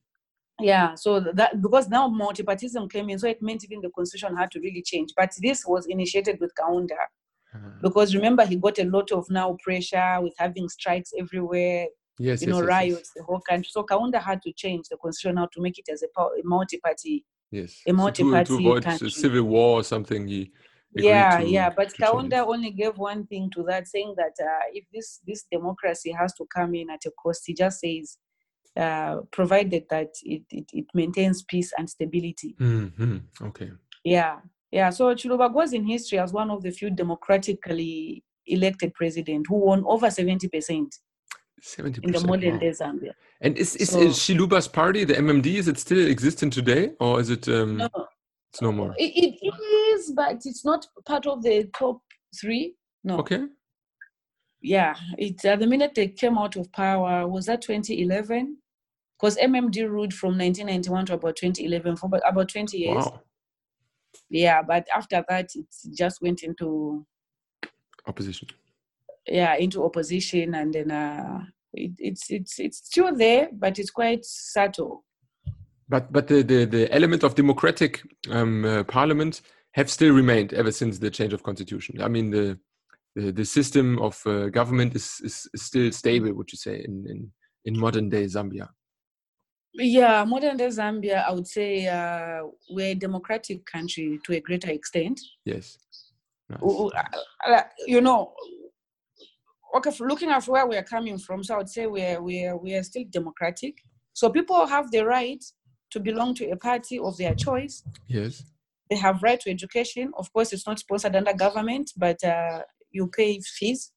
Yeah, so that because now multipartism came in, so it meant even the constitution had to really change. But this was initiated with Kaunda. Uh, because remember, he got a lot of now pressure with having strikes everywhere, yes, you yes, know, yes, riots, yes. the whole country. So Kaunda had to change the constitution now to make it as a, a multi-party, yes. a multi-party so to, to avoid country. Civil war or something, he agreed yeah, to, yeah. But to Kaunda only gave one thing to that, saying that uh, if this this democracy has to come in at a cost, he just says, uh, provided that it, it, it maintains peace and stability. Mm-hmm. Okay. Yeah, yeah. So Chiluba goes in history as one of the few democratically elected president who won over seventy percent seventy percent in the modern wow. day Zambia. And is, is, so, is Chiluba's party, the M M D, is it still existent today? Or is it, um, no, it's no more? It, it is, but it's not part of the top three. No. Okay. yeah, it uh, the minute they came out of power, was that twenty eleven? Because M M D ruled from nineteen ninety-one to about twenty eleven, for about twenty years. Wow. Yeah, but after that, it just went into opposition. Yeah, into opposition, and then uh, it, it's it's it's still there, but it's quite subtle. But but the the, the element of democratic um, uh, parliament have still remained ever since the change of constitution. I mean, the the, the system of uh, government is, is is still stable, would you say, in in, in modern day Zambia? Yeah, modern day Zambia, I would say uh, we're a democratic country to a greater extent. Yes. Nice. You know, okay, looking at where we're coming from, so I would say we're we're we are still democratic. So people have the right to belong to a party of their choice. Yes. They have right to education. Of course, it's not sponsored under government, but uh, you pay fees.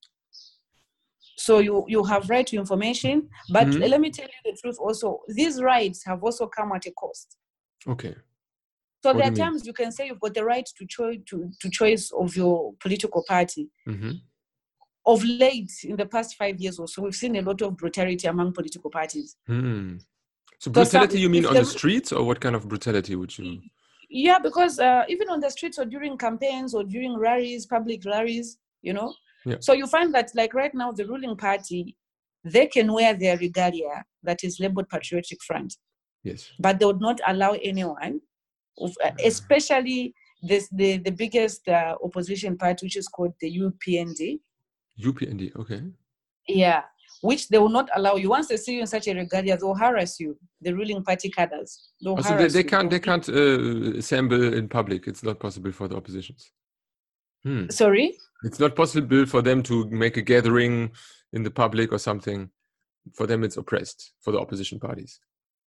So you, you have right to information. But mm-hmm. let me tell you the truth also. These rights have also come at a cost. Okay. So What there are times you can say you've got the right to, cho- to, to choice of your political party. Mm-hmm. Of late, in the past five years or so, we've seen a lot of brutality among political parties. Mm. So brutality, so some, you mean on the, the streets, or what kind of brutality would you... Yeah, because uh, even on the streets or during campaigns or during rallies, public rallies, you know. Yeah. So you find that, like right now, the ruling party, they can wear their regalia that is labeled Patriotic Front. Yes. But they would not allow anyone, of, uh, especially this, the, the biggest uh, opposition party, which is called the U P N D. U P N D, okay. Yeah, which they will not allow you. Once they see you in such a regalia, they'll harass you. The ruling party cadres. They'll oh, so harass they, they you. can't they can't uh, assemble in public. It's not possible for the oppositions. Hmm. Sorry? It's not possible for them to make a gathering in the public or something. For them, it's oppressed for the opposition parties.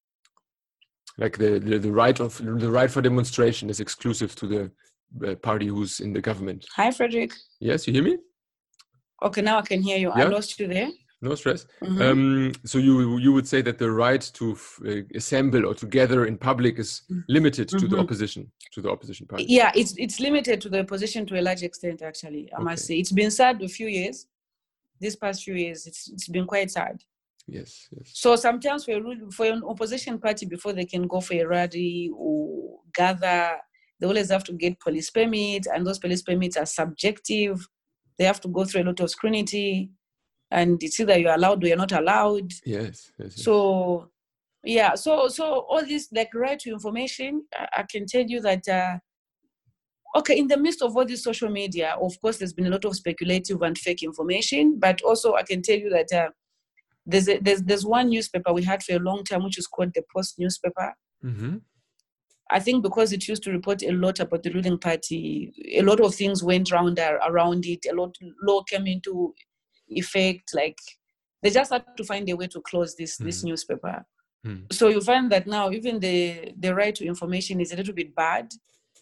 Like the, the, the right of the right for demonstration is exclusive to the uh, party who's in the government. Hi, Frederick. Yes, you hear me? Okay, now I can hear you. Yeah? I lost you there. No stress. Mm-hmm. Um, so you you would say that the right to f- uh, assemble or to gather in public is limited mm-hmm. to the opposition, to the opposition party. Yeah, it's it's limited to the opposition to a large extent. Actually, I okay. must say it's been sad a few years. These past few years, it's it's been quite sad. Yes, yes. So sometimes for a, for an opposition party, before they can go for a rally or gather, they always have to get police permits, and those police permits are subjective. They have to go through a lot of scrutiny, and it's either you're allowed or you're not allowed. Yes, yes, yes. So, yeah, so so all this, like, right to information, I, I can tell you that, uh, okay, in the midst of all this social media, of course, there's been a lot of speculative and fake information, but also I can tell you that uh, there's, a, there's there's one newspaper we had for a long time, which is called the Post newspaper. Mm-hmm. I think because it used to report a lot about the ruling party, a lot of things went round around it. A lot law came into effect. Like, they just had to find a way to close this mm. this newspaper. Mm. So you find that now even the, the right to information is a little bit bad.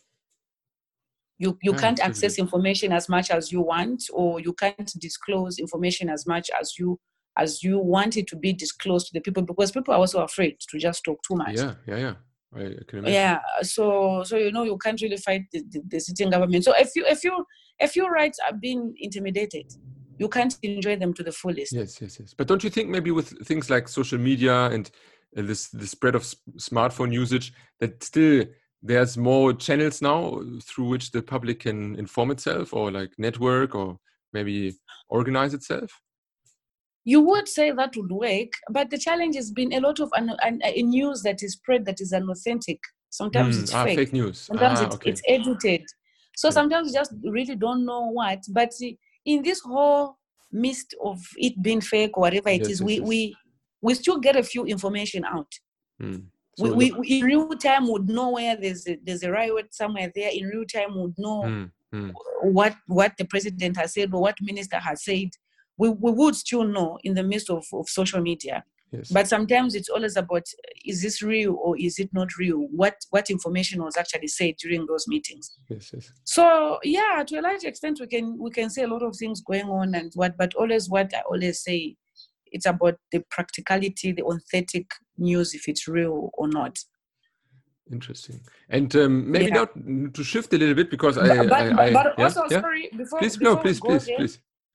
You you yeah, can't access information as much as you want, or you can't disclose information as much as you as you want it to be disclosed to the people, because people are also afraid to just talk too much. Yeah, yeah, yeah. I can imagine. Yeah, so so you know you can't really fight the, the, the sitting government. So if you if you if your rights are being intimidated, you can't enjoy them to the fullest. Yes, yes, yes. But don't you think maybe with things like social media and uh, this the spread of s- smartphone usage, that still there's more channels now through which the public can inform itself, or like network, or maybe organize itself? You would say that would work, but the challenge has been a lot of un- un- uh, news that is spread that is unauthentic. Sometimes mm, it's ah, fake. fake news. Sometimes ah, it's, okay. it's edited. So yeah. sometimes you just really don't know what. But in this whole mist of it being fake or whatever it yes, is, yes, we, yes. we we still get a few information out. Mm. So we, we, the- we in real time would know where there's a, there's a riot somewhere there. In real time would know mm, mm. what what the president has said or what minister has said. We, we would still know in the midst of, of social media. Yes. But sometimes it's always about, is this real or is it not real? What what information was actually said during those meetings? Yes, yes. So yeah, to a large extent, we can we can say a lot of things going on and what, but always what I always say, it's about the practicality, the authentic news, if it's real or not. Interesting. And um, maybe Yeah. now to shift a little bit, because But I, but, I, but, I but yeah, also yeah? sorry before Please, before no, please, we go please, there, please.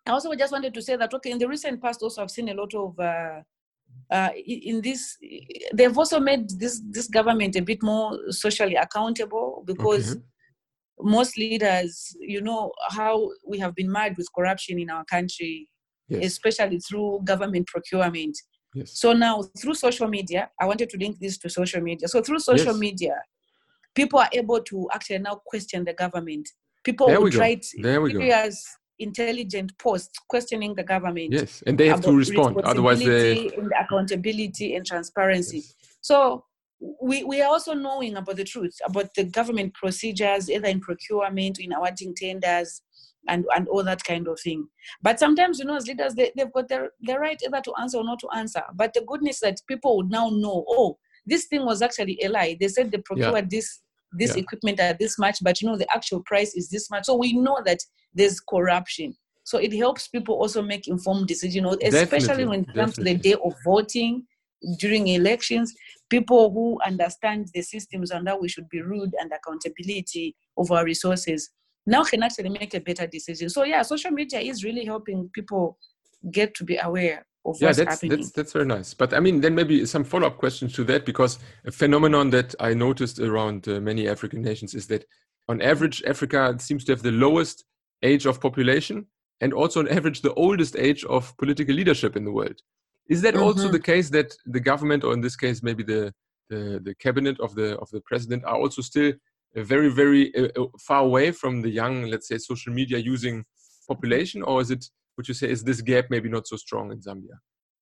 I also just wanted to say that, okay, in the recent past also I've seen a lot of, uh, uh, in this, they've also made this, this government a bit more socially accountable, because okay. most leaders, you know, how we have been marred with corruption in our country, yes. especially through government procurement. Yes. So now through social media, I wanted to link this to social media. So through social yes. media, people are able to actually now question the government. People there would we write there we serious, intelligent posts questioning the government. Yes, and they have to respond. Otherwise, they and accountability and transparency. Yes. So we we are also knowing about the truth about the government procedures, either in procurement, in awarding tenders, and and all that kind of thing. But sometimes, you know, as leaders, they, they've got their, their right either to answer or not to answer. But the goodness that people would now know, oh, this thing was actually a lie. They said they procured yeah. this this yeah. equipment at this much, but you know, the actual price is this much. So we know that there's corruption. So it helps people also make informed decisions, especially definitely, when it comes definitely. to the day of voting, during elections. People who understand the systems and how we should be ruled and accountability of our resources now can actually make a better decision. So yeah, social media is really helping people get to be aware of yeah, what's that's, happening. That's, that's very nice. But I mean, then maybe some follow-up questions to that, because a phenomenon that I noticed around uh, many African nations is that on average, Africa seems to have the lowest age of population and also on average the oldest age of political leadership in the world. Is that mm-hmm. also the case that the government, or in this case, maybe the, the, the cabinet of the, of the president, are also still very, very uh, far away from the young, let's say, social media using population? Or is it, would you say, is this gap maybe not so strong in Zambia?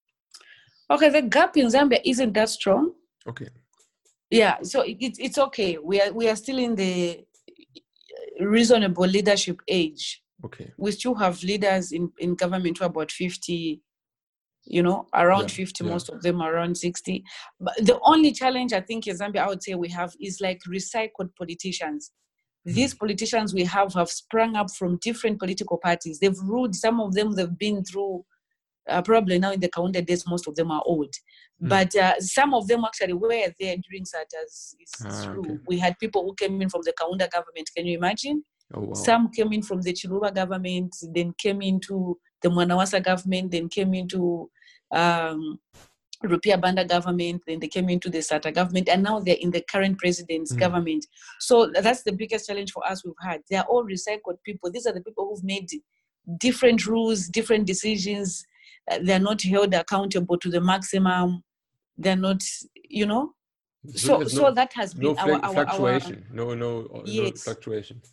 Okay, the gap in Zambia isn't that strong. Okay. Yeah, so it, it's okay. We are we are still in the reasonable leadership age. Okay. We still have leaders in, in government who are about fifty, you know, around yeah, fifty, yeah. most of them are around sixty. But the only challenge I think in Zambia, I would say we have is like recycled politicians. Mm. These politicians we have have sprung up from different political parties. They've ruled, some of them they've been through, uh, probably now in the Kaunda days, most of them are old. Mm. But uh, some of them actually were there during SATA's ah, rule. Okay. We had people who came in from the Kaunda government. Can you imagine? Oh, wow. Some came in from the Chiluba government, then came into the Mwanawasa government, then came into um, Rupia Banda government, then they came into the SATA government, and now they're in the current president's mm. government. So that's the biggest challenge for us we've had. They're all recycled people. These are the people who've made different rules, different decisions. Uh, they're not held accountable to the maximum. They're not, you know. So, so, no, so that has been no our, our fluctuation. Our, no, no, yes. no fluctuation.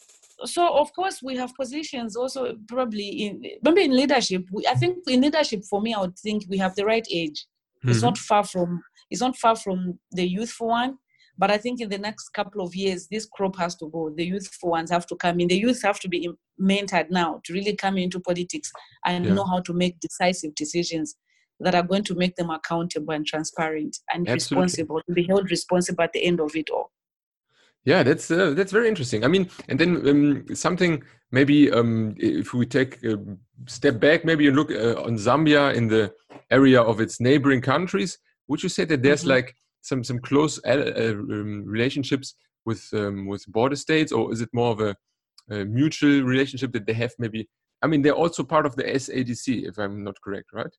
So of course we have positions also probably in maybe in leadership. We, I think in leadership for me, I would think we have the right age. Mm-hmm. It's not far from it's not far from the youthful one. But I think in the next couple of years, this crop has to go. The youthful ones have to come in. The youth have to be mentored now to really come into politics and yeah. know how to make decisive decisions that are going to make them accountable and transparent and Absolutely. responsible, to be held responsible at the end of it all. Yeah, that's uh, that's very interesting. I mean, and then um, something maybe um, if we take a step back, maybe you look uh, on Zambia in the area of its neighboring countries. Would you say that there's mm-hmm. like some some close uh, um, relationships with um, with border states, or is it more of a, a mutual relationship that they have? Maybe I mean they're also part of the S A D C, if I'm not correct, right?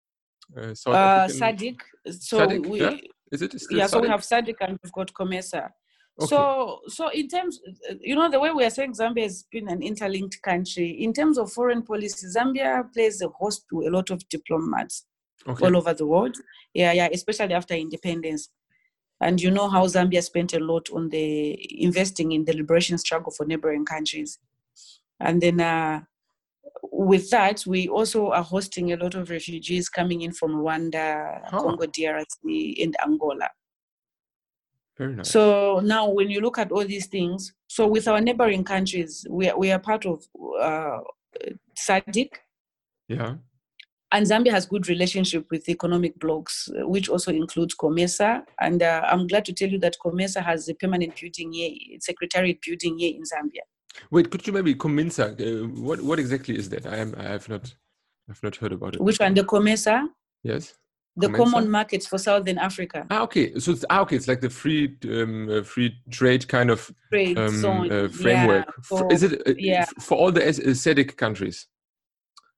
Uh, South uh, SADC. So SADC, we, yeah? Is it still yeah. SADC? So we have SADC and we've got COMESA. Okay. So, so in terms, you know, the way we are saying Zambia has been an interlinked country. In terms of foreign policy, Zambia plays a host to a lot of diplomats okay. all over the world. Yeah, yeah, especially after independence. And you know how Zambia spent a lot on the investing in the liberation struggle for neighboring countries. And then uh, with that, we also are hosting a lot of refugees coming in from Rwanda, huh. Congo D R C, and Angola. Very nice. So now when you look at all these things, so with our neighboring countries, we are, we are part of uh, SADC. Yeah. And Zambia has good relationship with economic blocs, which also includes COMESA. And uh, I'm glad to tell you that COMESA has a permanent building here, secretariat building here in Zambia. Wait, could you maybe COMESA? Uh, what what exactly is that? I am I have not I've not heard about it. Which one? The COMESA? Yes. The COMESA? Common markets for Southern Africa. Ah, okay. So it's ah, okay. It's like the free um, uh, free trade kind of trade um, zone uh, framework. Yeah, for, is it uh, yeah. for all the SADC countries?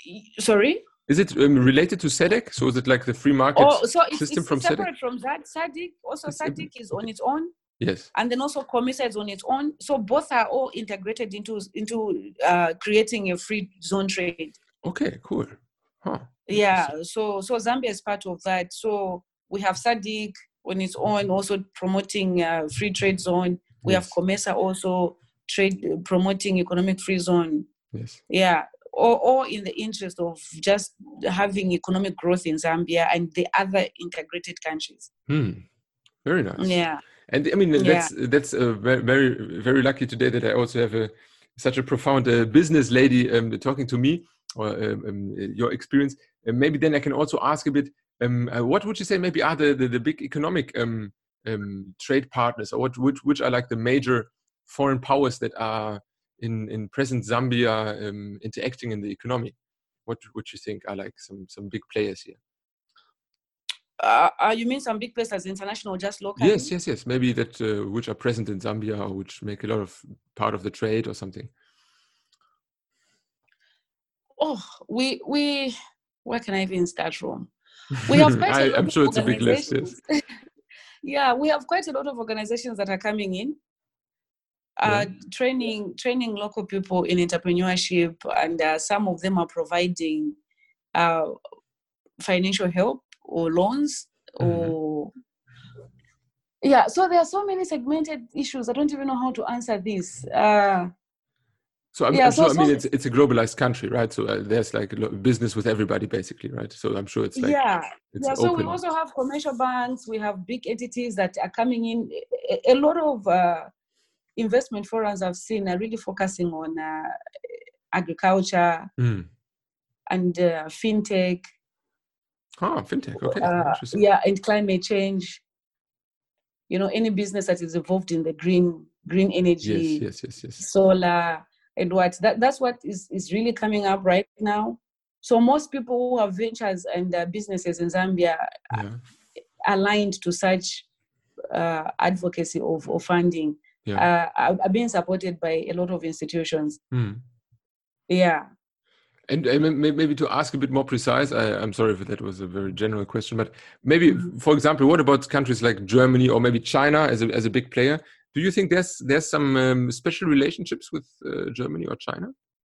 Sorry? Is it um, related to S A D C? So is it like the free market Oh, so it's, system it's from separate S A D C? from that. S A D C, also It's, S A D C is okay. on its own. Yes. And then also COMESA is on its own. So both are all integrated into, into uh, creating a free zone trade. Okay, cool. Huh. Yeah, so so Zambia is part of that. So we have S A D C on its own, also promoting uh, free trade zone. We Yes. have COMESA also trade promoting economic free zone. Yes. Yeah, all, all in the interest of just having economic growth in Zambia and the other integrated countries. Hmm. Very nice. Yeah. And I mean, that's yeah. that's uh, very, very, very lucky today that I also have a such a profound uh, business lady um, talking to me, or um, um, your experience. And maybe then I can also ask a bit, um, uh, what would you say maybe are the, the, the big economic um, um, trade partners, or what which, which are like the major foreign powers that are in, in present Zambia um, interacting in the economy? What would you think are like some, some big players here? Uh, uh, you mean some big places, international, just local? Yes, yes, yes. Maybe that uh, which are present in Zambia or which make a lot of part of the trade or something. Oh, we we where can I even start from? We have quite I, a lot I'm of sure it's a big list. Yes. Yeah, we have quite a lot of organizations that are coming in, uh, yeah. training training local people in entrepreneurship, and uh, some of them are providing uh, financial help or loans or mm-hmm. yeah. So there are so many segmented issues. I don't even know how to answer this. Uh, So I'm, yeah, I'm so, sure. I mean, so, it's it's a globalized country, right? So uh, there's like a business with everybody, basically, right? So I'm sure it's like yeah, it's yeah. open. So we also have commercial banks. We have big entities that are coming in. A, a lot of uh, investment forums I've seen are really focusing on uh, agriculture mm. and uh, fintech. Ah, fintech. Okay, uh, interesting. Yeah, and climate change. You know, any business that is involved in the green green energy, yes, yes, yes, yes. solar, and what that that's what is is really coming up right now. So most people who have ventures and uh, businesses in Zambia yeah. are aligned to such uh, advocacy of, of funding. Yeah. Uh, are, are being supported by a lot of institutions. Mm. Yeah. And uh, maybe to ask a bit more precise, I, I'm sorry if that was a very general question, but maybe, mm-hmm. for example, what about countries like Germany or maybe China as a as a big player? Do you think there's there's some um, special relationships with uh, Germany or China?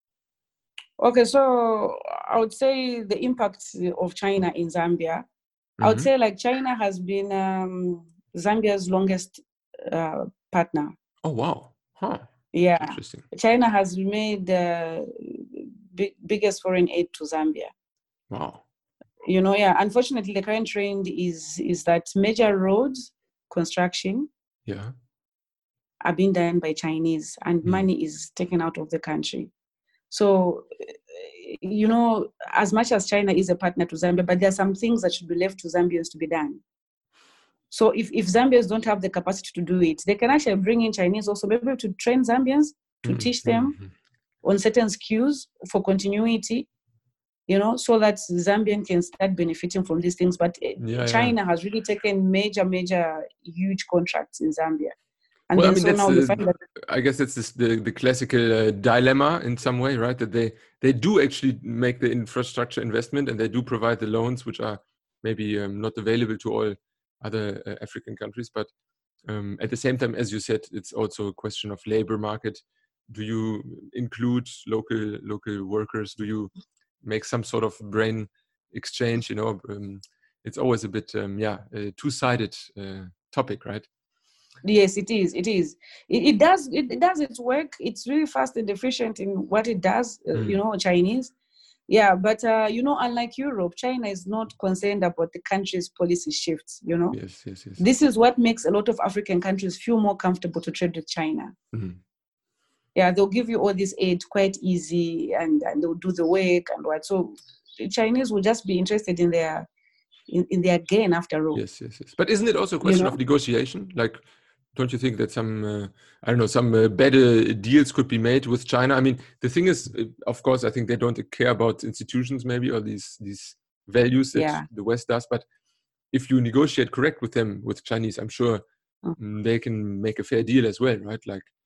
Okay, so I would say the impact of China in Zambia. Mm-hmm. I would say like China has been um, Zambia's longest uh, partner. Oh wow! Huh. Yeah. Interesting. China has made the big, biggest foreign aid to Zambia. Wow. You know, yeah. Unfortunately, the current trend is is that major roads construction. Yeah. Are being done by Chinese, and mm. money is taken out of the country. So, you know, as much as China is a partner to Zambia, but there are some things that should be left to Zambians to be done. So if, if Zambians don't have the capacity to do it, they can actually bring in Chinese also, maybe to train Zambians, to mm-hmm. teach them mm-hmm. on certain skills for continuity, you know, so that Zambian can start benefiting from these things. But yeah, China yeah. has really taken major, major, huge contracts in Zambia. And well, then I mean, so that's, now uh, we find that I guess that's this, the, the classical uh, dilemma in some way, right? That they, they do actually make the infrastructure investment and they do provide the loans, which are maybe um, not available to all other uh, African countries. But um, at the same time, as you said, it's also a question of labor market. Do you include local local workers? Do you make some sort of brain exchange? You know, um, it's always a bit, um, yeah, a two-sided uh, topic, right? Yes, it is. It is. It, it does. It, it does its work. It's really fast and efficient in what it does. Uh, mm. You know, Chinese. Yeah, but uh, you know, unlike Europe, China is not concerned about the country's policy shifts. You know. Yes, yes, yes. This is what makes a lot of African countries feel more comfortable to trade with China. Mm. Yeah, they'll give you all this aid quite easy, and, and they'll do the work and what. So the Chinese will just be interested in their in, in their gain after all. Yes, yes, yes. But isn't it also a question you know? of negotiation? Like, don't you think that some, uh, I don't know, some uh, better deals could be made with China? I mean, the thing is, of course, I think they don't care about institutions maybe or these these values that yeah. the West does. But if you negotiate correct with them, with Chinese, I'm sure mm. they can make a fair deal as well, right? Like,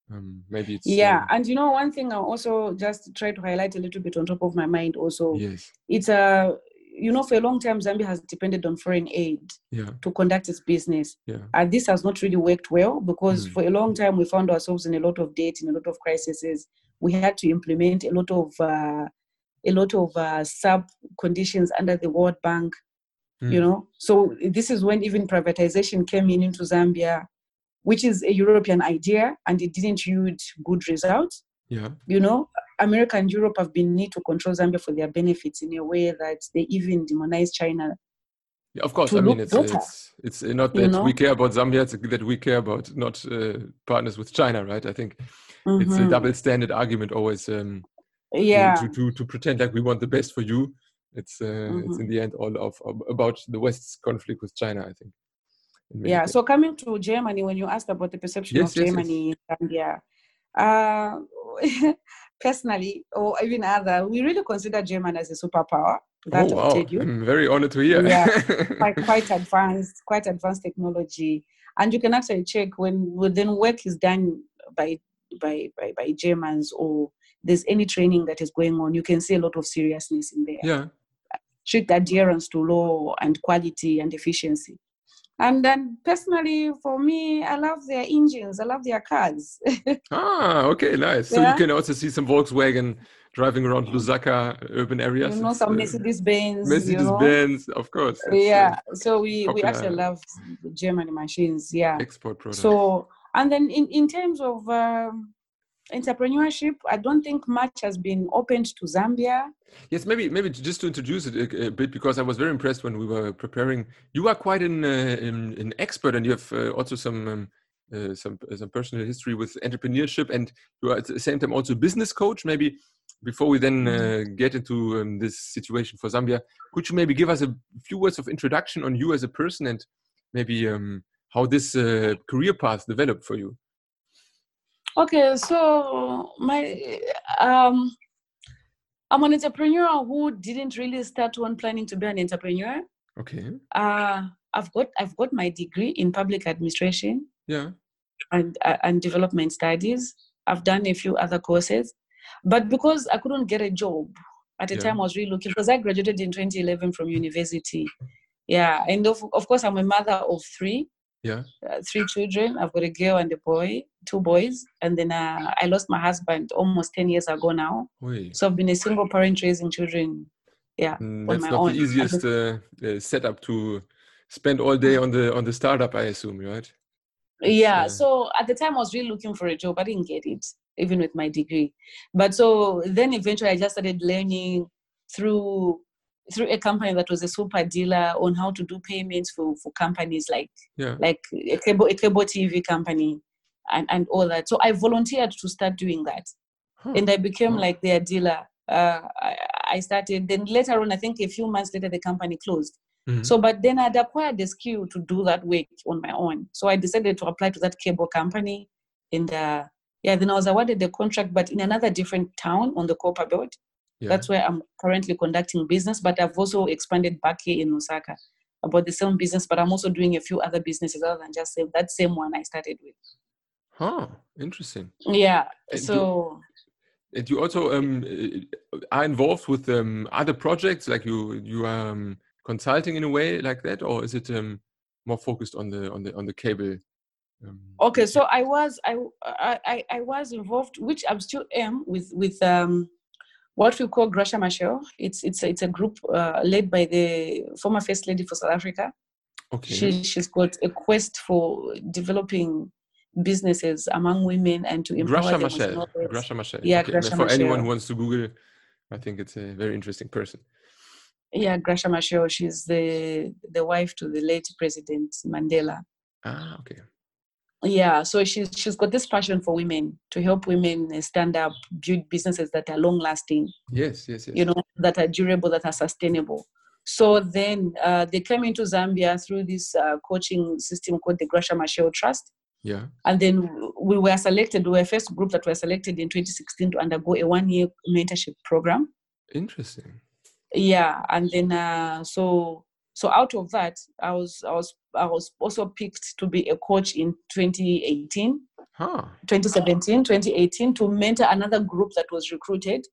Um, maybe it's Yeah, um, and you know, one thing I also just try to highlight a little bit on top of my mind also, yes, it's a, you know, for a long time, Zambia has depended on foreign aid yeah, to conduct its business. yeah, And this has not really worked well because mm. for a long time, we found ourselves in a lot of debt, in a lot of crises. We had to implement a lot of, uh, a lot of uh, sub conditions under the World Bank, Mm. you know. So this is when even privatization came in into Zambia, which is a European idea, and it didn't yield good results. Yeah. You know, America and Europe have been need to control Zambia for their benefits in a way that they even demonize China. Yeah, of course. To I mean, look it's better, it's it's not you that know. we care about Zambia; it's that we care about not uh, partners with China, right? I think it's a Mm-hmm. double standard argument always um, to, Yeah. to to to pretend like we want the best for you. It's uh, Mm-hmm. it's in the end all of, of about the West's conflict with China, I think. in many Yeah. cases. So coming to Germany, when you asked about the perception Yes, of yes, yes. Germany in Zambia, uh, personally, or even other, we really consider Germany as a superpower. That Oh I'll tell wow! you. I'm very honored to hear. Yeah, quite quite advanced, quite advanced technology, and you can actually check when when work is done by by by by Germans, or there's any training that is going on. You can see a lot of seriousness in there. Yeah. Strict adherence to law and quality and efficiency. And then personally, for me, I love their engines. I love their cars. Ah, okay, nice. So Yeah. you can also see some Volkswagen driving around Lusaka urban areas. You know, It's, some uh, Mercedes Benz. You Mercedes know. Benz, of course. It's, Yeah. uh, So we we popular actually love German machines. Yeah. export product. So and then in in terms of um, entrepreneurship, I don't think much has been opened to Zambia. Yes, maybe maybe just to introduce it a, a bit, because I was very impressed when we were preparing. You are quite an uh, an, an expert, and you have uh, also some um, uh, some some personal history with entrepreneurship, and you are at the same time also a business coach. Maybe before we then uh, get into um, this situation for Zambia, could you maybe give us a few words of introduction on you as a person, and maybe um, how this uh, career path developed for you? Okay, so my um, I'm an entrepreneur who didn't really start on planning to be an entrepreneur. Okay. Uh, I've got I've got my degree in public administration. Yeah. And uh, and development studies. I've done a few other courses, but because I couldn't get a job at the Yeah. time, I was really looking, because I graduated in twenty eleven from university. Yeah, and of, of course, I'm a mother of three. Yeah. Uh, three children. I've got a girl and a boy, two boys, and then uh, I lost my husband almost ten years ago now. Oy. So I've been a single parent raising children. Yeah, Mm, on that's my not own. the easiest uh, uh, setup to spend all day on the on the startup, I assume, right? It's, Yeah, uh, so at the time I was really looking for a job. I didn't get it, even with my degree. But so then eventually I just started learning through through a company that was a super dealer on how to do payments for, for companies like yeah. like a cable, a cable T V company and, and all that. So I volunteered to start doing that. Huh. And I became Wow. like their dealer. Uh, I, I started, then later on, I think a few months later, the company closed. Mm-hmm. So, but then I'd acquired the skill to do that work on my own. So I decided to apply to that cable company. And uh, yeah, then I was awarded the contract, but in another different town on the Copper Belt. Yeah. That's where I'm currently conducting business, but I've also expanded back here in Osaka about the same business, but I'm also doing a few other businesses other than just same, that same one I started with. Huh, interesting. Yeah, And so... You, and you also um, are involved with um, other projects, like you you are um, consulting in a way like that, or is it um, more focused on the on the on the cable? Um, okay, so I was I, I I was involved, which I still am, with with um, what we call Graça Machel. It's it's it's a group uh, led by the former First Lady for South Africa. Okay. She she's got a quest for developing businesses among women and to empower Graça them Machel. with knowledge. Graça Machel. Yeah, okay. Graça For anyone Machel. who wants to Google, I think it's a very interesting person. Yeah, Graça Machel. She's the the wife to the late President Mandela. Ah, okay. Yeah, so she's she's got this passion for women, to help women stand up, build businesses that are long lasting. Yes, yes, yes. You know, that are durable, that are sustainable. So then uh, they came into Zambia through this uh, coaching system called the Graça Machel Trust. Yeah. And then we were selected, we were the first group that were selected in twenty sixteen to undergo a one-year mentorship program. Interesting. Yeah, and then uh, so so out of that, I was I was I was also picked to be a coach in twenty eighteen. Huh. twenty seventeen, twenty eighteen, to mentor another group that was recruited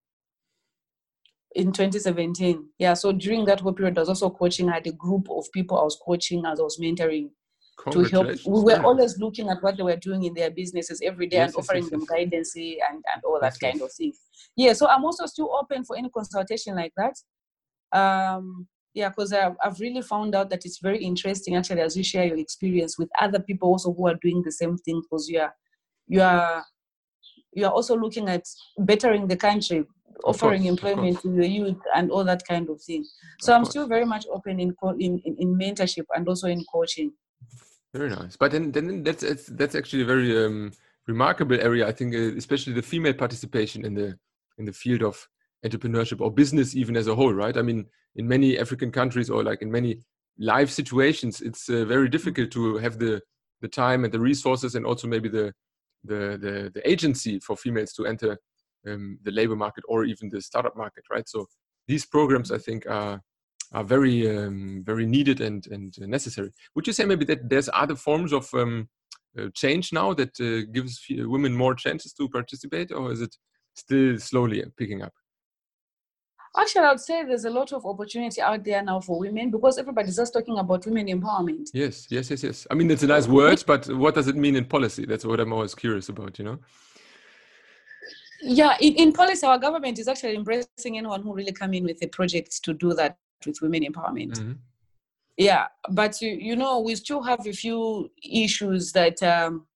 in twenty seventeen. Yeah, so during that whole period, I was also coaching. I had a group of people I was coaching as I was mentoring to help. We were Very always nice. looking at what they were doing in their businesses every day Yes, and yes, offering yes, them yes. guidance and, and all that Yes, kind yes. of thing. Yeah, so I'm also still open for any consultation like that. Um, yeah, because I've, I've really found out that it's very interesting actually as you share your experience with other people also who are doing the same thing, because you are you are you are also looking at bettering the country, Of offering course, of employment course. to the youth and all that kind of thing. So Of I'm course. still very much open in, co- in, in in mentorship and also in coaching. Very nice. But then, then that's it's, that's actually a very um, remarkable area. I think, uh, especially the female participation in the in the field of entrepreneurship or business, even as a whole, right? I mean, in many African countries or like in many life situations, it's uh, very difficult to have the the time and the resources, and also maybe the the the, the agency for females to enter um, the labor market or even the startup market, right? So these programs, I think, are are very um, very needed and and necessary. Would you say maybe that there's other forms of um, uh, change now that uh, gives f- women more chances to participate, or is it still slowly picking up? Actually, I would say there's a lot of opportunity out there now for women, because everybody's just talking about women empowerment. Yes, yes, yes, yes. I mean, it's a nice word, but what does it mean in policy? That's what I'm always curious about, you know? Yeah, in, in policy, our government is actually embracing anyone who really come in with a project to do that with women empowerment. Mm-hmm. Yeah, but you, you know, we still have a few issues that um,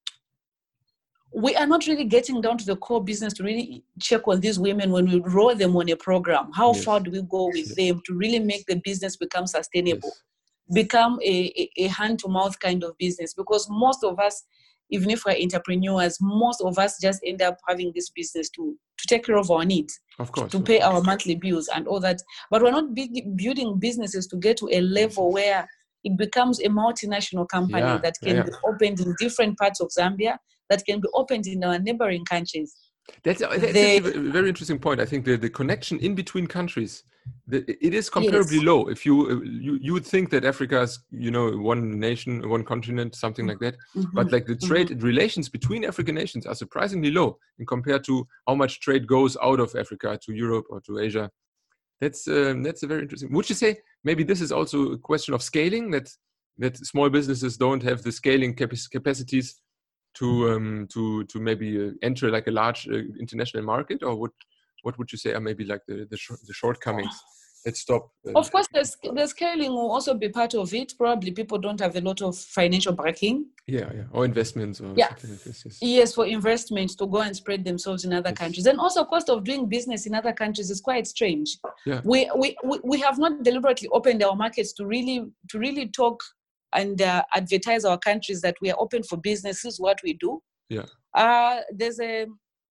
we are not really getting down to the core business to really check on these women when we roll them on a program. How Yes. far do we go with Yes. them to really make the business become sustainable, Yes. become a, a, a hand-to-mouth kind of business? Because most of us, even if we're entrepreneurs, most of us just end up having this business to, to take care of our needs, Of course, to of pay course. our monthly bills and all that. But we're not big, building businesses to get to a level Yes. where it becomes a multinational company Yeah, that can yeah, be yeah. opened in different parts of Zambia, that can be opened in our neighboring countries. That's, that's They, actually a very interesting point. I think the, the connection in between countries, the, it is comparably yes. low. If you, you you would think that Africa is, you know, one nation, one continent, something like that. Mm-hmm. But like the trade Mm-hmm. relations between African nations are surprisingly low in compared to how much trade goes out of Africa to Europe or to Asia. That's um, that's a very interesting. Would you say maybe this is also a question of scaling, that that small businesses don't have the scaling cap- capacities to um, to to maybe uh, enter like a large uh, international market, or what what would you say are maybe like the the, sh- the shortcomings that stop? Uh, Of course, the, the scaling will also be part of it. Probably people don't have a lot of financial backing. yeah, yeah, or investments or Yeah. something like this. Yes. Yes, for investments to go and spread themselves in other Yes. countries. And also cost of doing business in other countries is quite strange. Yeah. We, we, we, we have not deliberately opened our markets to really to really talk and uh, advertise our countries that we are open for business. This is what we do. Yeah. Uh, there's a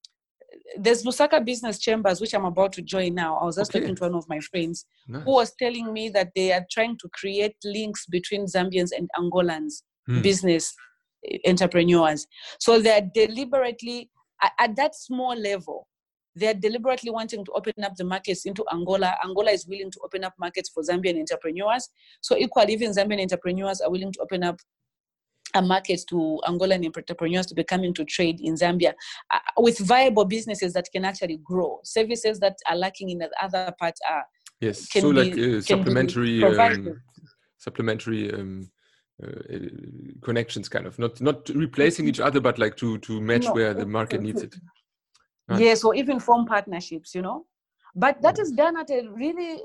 there's Lusaka Business Chambers, which I'm about to join now. I was just Okay. talking to one of my friends Nice. who was telling me that they are trying to create links between Zambians and Angolans Hmm. business entrepreneurs. So they're deliberately, at, at that small level, they're deliberately wanting to open up the markets into Angola. Angola is willing to open up markets for Zambian entrepreneurs. So equally, even Zambian entrepreneurs are willing to open up a market to Angolan entrepreneurs to be coming to trade in Zambia uh, with viable businesses that can actually grow. Services that are lacking in the other part are Yes. can So be, like uh, can supplementary be provided. um, supplementary um, uh, connections, kind of not not replacing each other, but like to to match No, where the market needs it. Nice. Yes, or even form partnerships, you know. But that is done at a really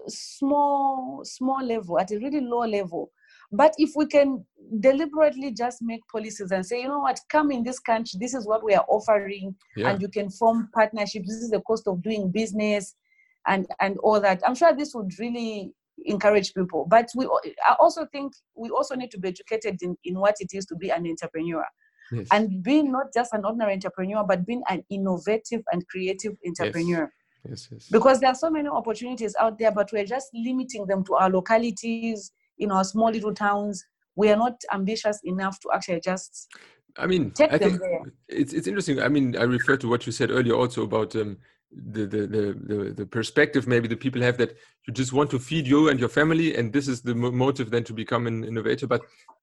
small, small level, at a really low level. But if we can deliberately just make policies and say, you know what, come in this country, this is what we are offering, Yeah. and you can form partnerships, this is the cost of doing business, and, and all that. I'm sure this would really encourage people. But we, I also think we also need to be educated in, in what it is to be an entrepreneur. Yes. And being not just an ordinary entrepreneur, but being an innovative and creative entrepreneur. Yes, yes. Because there are so many opportunities out there, but we're just limiting them to our localities, in our small little towns. We are not ambitious enough to actually just I mean, take I them think there. it's it's interesting. I mean, I refer to what you said earlier also about um, the, the the the the perspective maybe the people have that you just want to feed you and your family, and this is the mo- motive then to become an innovator. But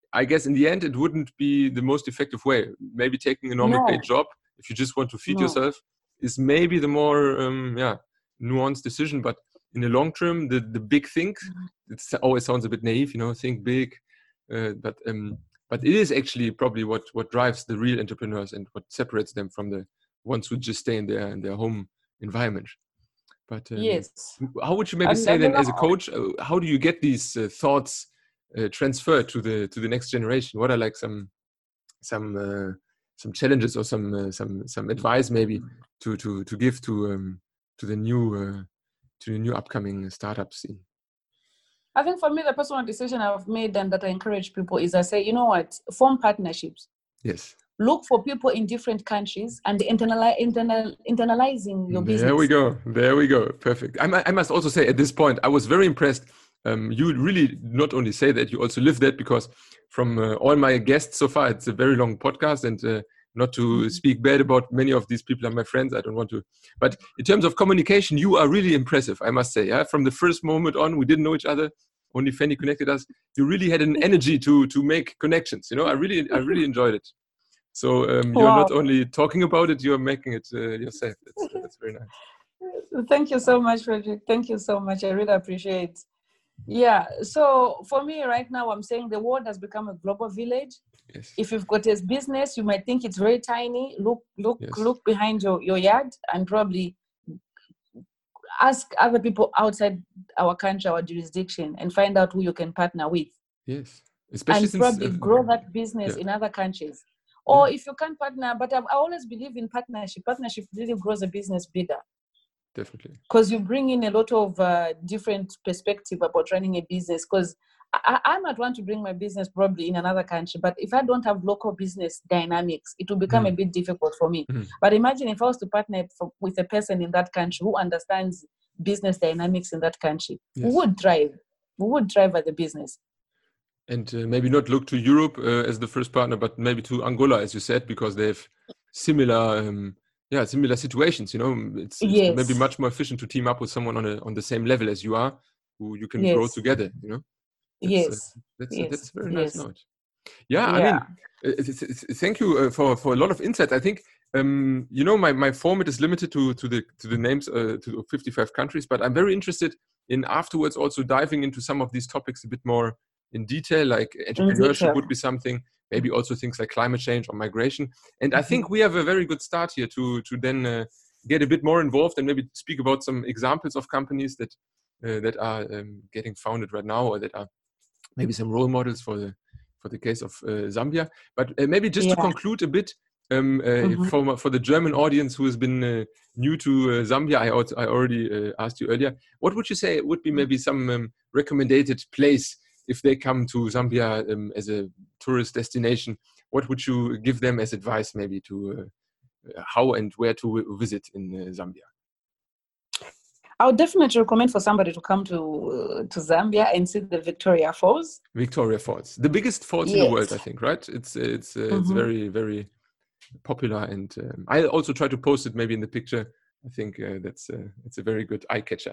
I guess in the end, it wouldn't be the most effective way. Maybe taking a normal No. paid job, if you just want to feed No. yourself, is maybe the more um, yeah nuanced decision. But in the long term, the, the big think, it always sounds a bit naive, you know, think big. Uh, but um, but it is actually probably what, what drives the real entrepreneurs and what separates them from the ones who just stay in their in their home environment. But um, Yes. how would you maybe And say and then, you as a know, coach, uh, how do you get these uh, thoughts uh, transferred to the to the next generation? What are like some some uh, some challenges or some uh, some some advice maybe to to to give to um, to the new uh, to the new upcoming startup scene? I think for me, the personal decision I've made and that I encourage people is I say, you know what, form partnerships. Yes. Look for people in different countries and internali- internal, internalizing your business. There we go. There we go. Perfect. I, I must also say at this point, I was very impressed. Um, you really not only say that, you also live that, because from uh, all my guests so far, it's a very long podcast, and uh, not to mm-hmm. speak bad about many of these people are my friends. I don't want to. But in terms of communication, you are really impressive, I must say. Yeah? From the first moment on, we didn't know each other. Only Fanny connected us. You really had an energy to to make connections. You know, I really I really enjoyed it. So um, you're Wow. not only talking about it, you're making it uh, yourself. That's, uh, that's very nice. Thank you so much, Frederick. Thank you so much. I really appreciate it. Yeah. So for me right now, I'm saying the world has become a global village. Yes. If you've got a business, you might think it's very tiny. Look, look, yes. look behind your, your yard and probably ask other people outside our country, our jurisdiction, and find out who you can partner with. Yes. Especially and since, probably uh, grow that business yeah. in other countries. Or yeah. if you can't partner, but I've, I always believe in partnership. Partnership really grows a business bigger. Definitely. Because you bring in a lot of uh, different perspective about running a business. Because I, I might want to bring my business probably in another country, but if I don't have local business dynamics, it will become mm. a bit difficult for me. Mm. But imagine if I was to partner for, with a person in that country who understands business dynamics in that country, yes. we would thrive. We would thrive at the business. And uh, maybe not look to Europe uh, as the first partner, but maybe to Angola, as you said, because they have similar, um, yeah, similar situations. You know, it's, it's yes. maybe much more efficient to team up with someone on a, on the same level as you are, who you can yes. grow together. You know, that's, yes, uh, that's yes. Uh, that's a very nice yes. note. Yeah, yeah, I mean, uh, it's, it's, it's, thank you uh, for for a lot of insight. I think um, you know my, my format is limited to to the to the names uh, to fifty-five countries, but I'm very interested in afterwards also diving into some of these topics a bit more in detail, like entrepreneurship detail. Would be something, maybe also things like climate change or migration. And mm-hmm. I think we have a very good start here to to then uh, get a bit more involved and maybe speak about some examples of companies that uh, that are um, getting founded right now, or that are maybe some role models for the for the case of uh, Zambia. But uh, maybe just yeah. to conclude a bit, um, uh, mm-hmm. for for the German audience who has been uh, new to uh, Zambia, I also, I already uh, asked you earlier. What would you say would be maybe some um, recommended place if they come to Zambia um, as a tourist destination? What would you give them as advice, maybe to uh, how and where to visit in uh, Zambia? I would definitely recommend for somebody to come to uh, to Zambia and see the Victoria Falls. Victoria Falls, the biggest falls yes. in the world, I think, right? It's it's uh, mm-hmm. it's very very popular, and um, I also try to post it maybe in the picture. I think uh, that's uh, it's a very good eye catcher.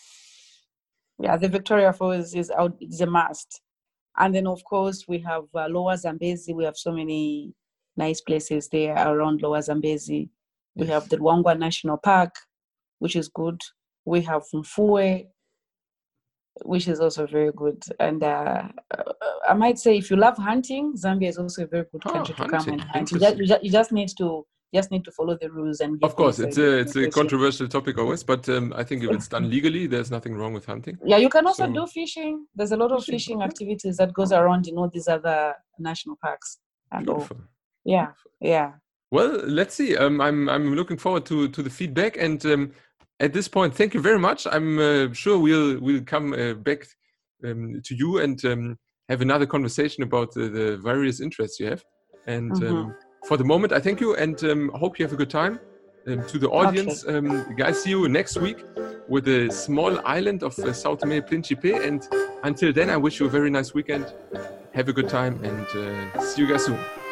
Yeah, the Victoria Falls is out; it's a must. And then, of course, we have uh, Lower Zambezi. We have so many nice places there around Lower Zambezi. We yes. have the Luangwa National Park, which is good. We have Mfue, which is also very good. And uh, I might say, if you love hunting, Zambia is also a very good country oh, to come and hunt. You just, you, just, you just need to just need to follow the rules and. Of course, it's a it's a controversial topic always, but um, I think if it's done legally, there's nothing wrong with hunting. Yeah, you can also so, do fishing. There's a lot of fishing, fishing activities that goes around in all these other national parks and Beautiful. all. Yeah, Beautiful. yeah. Well, let's see. Um, I'm I'm looking forward to to the feedback, and um, at this point, thank you very much. I'm uh, sure we'll we'll come uh, back um, to you and um, have another conversation about uh, the various interests you have. And mm-hmm. um, for the moment, I thank you and um, hope you have a good time. Um, to the audience, okay. um, guys, see you next week with a small island of uh, São Tomé and Príncipe. And until then, I wish you a very nice weekend. Have a good time and uh, see you guys soon.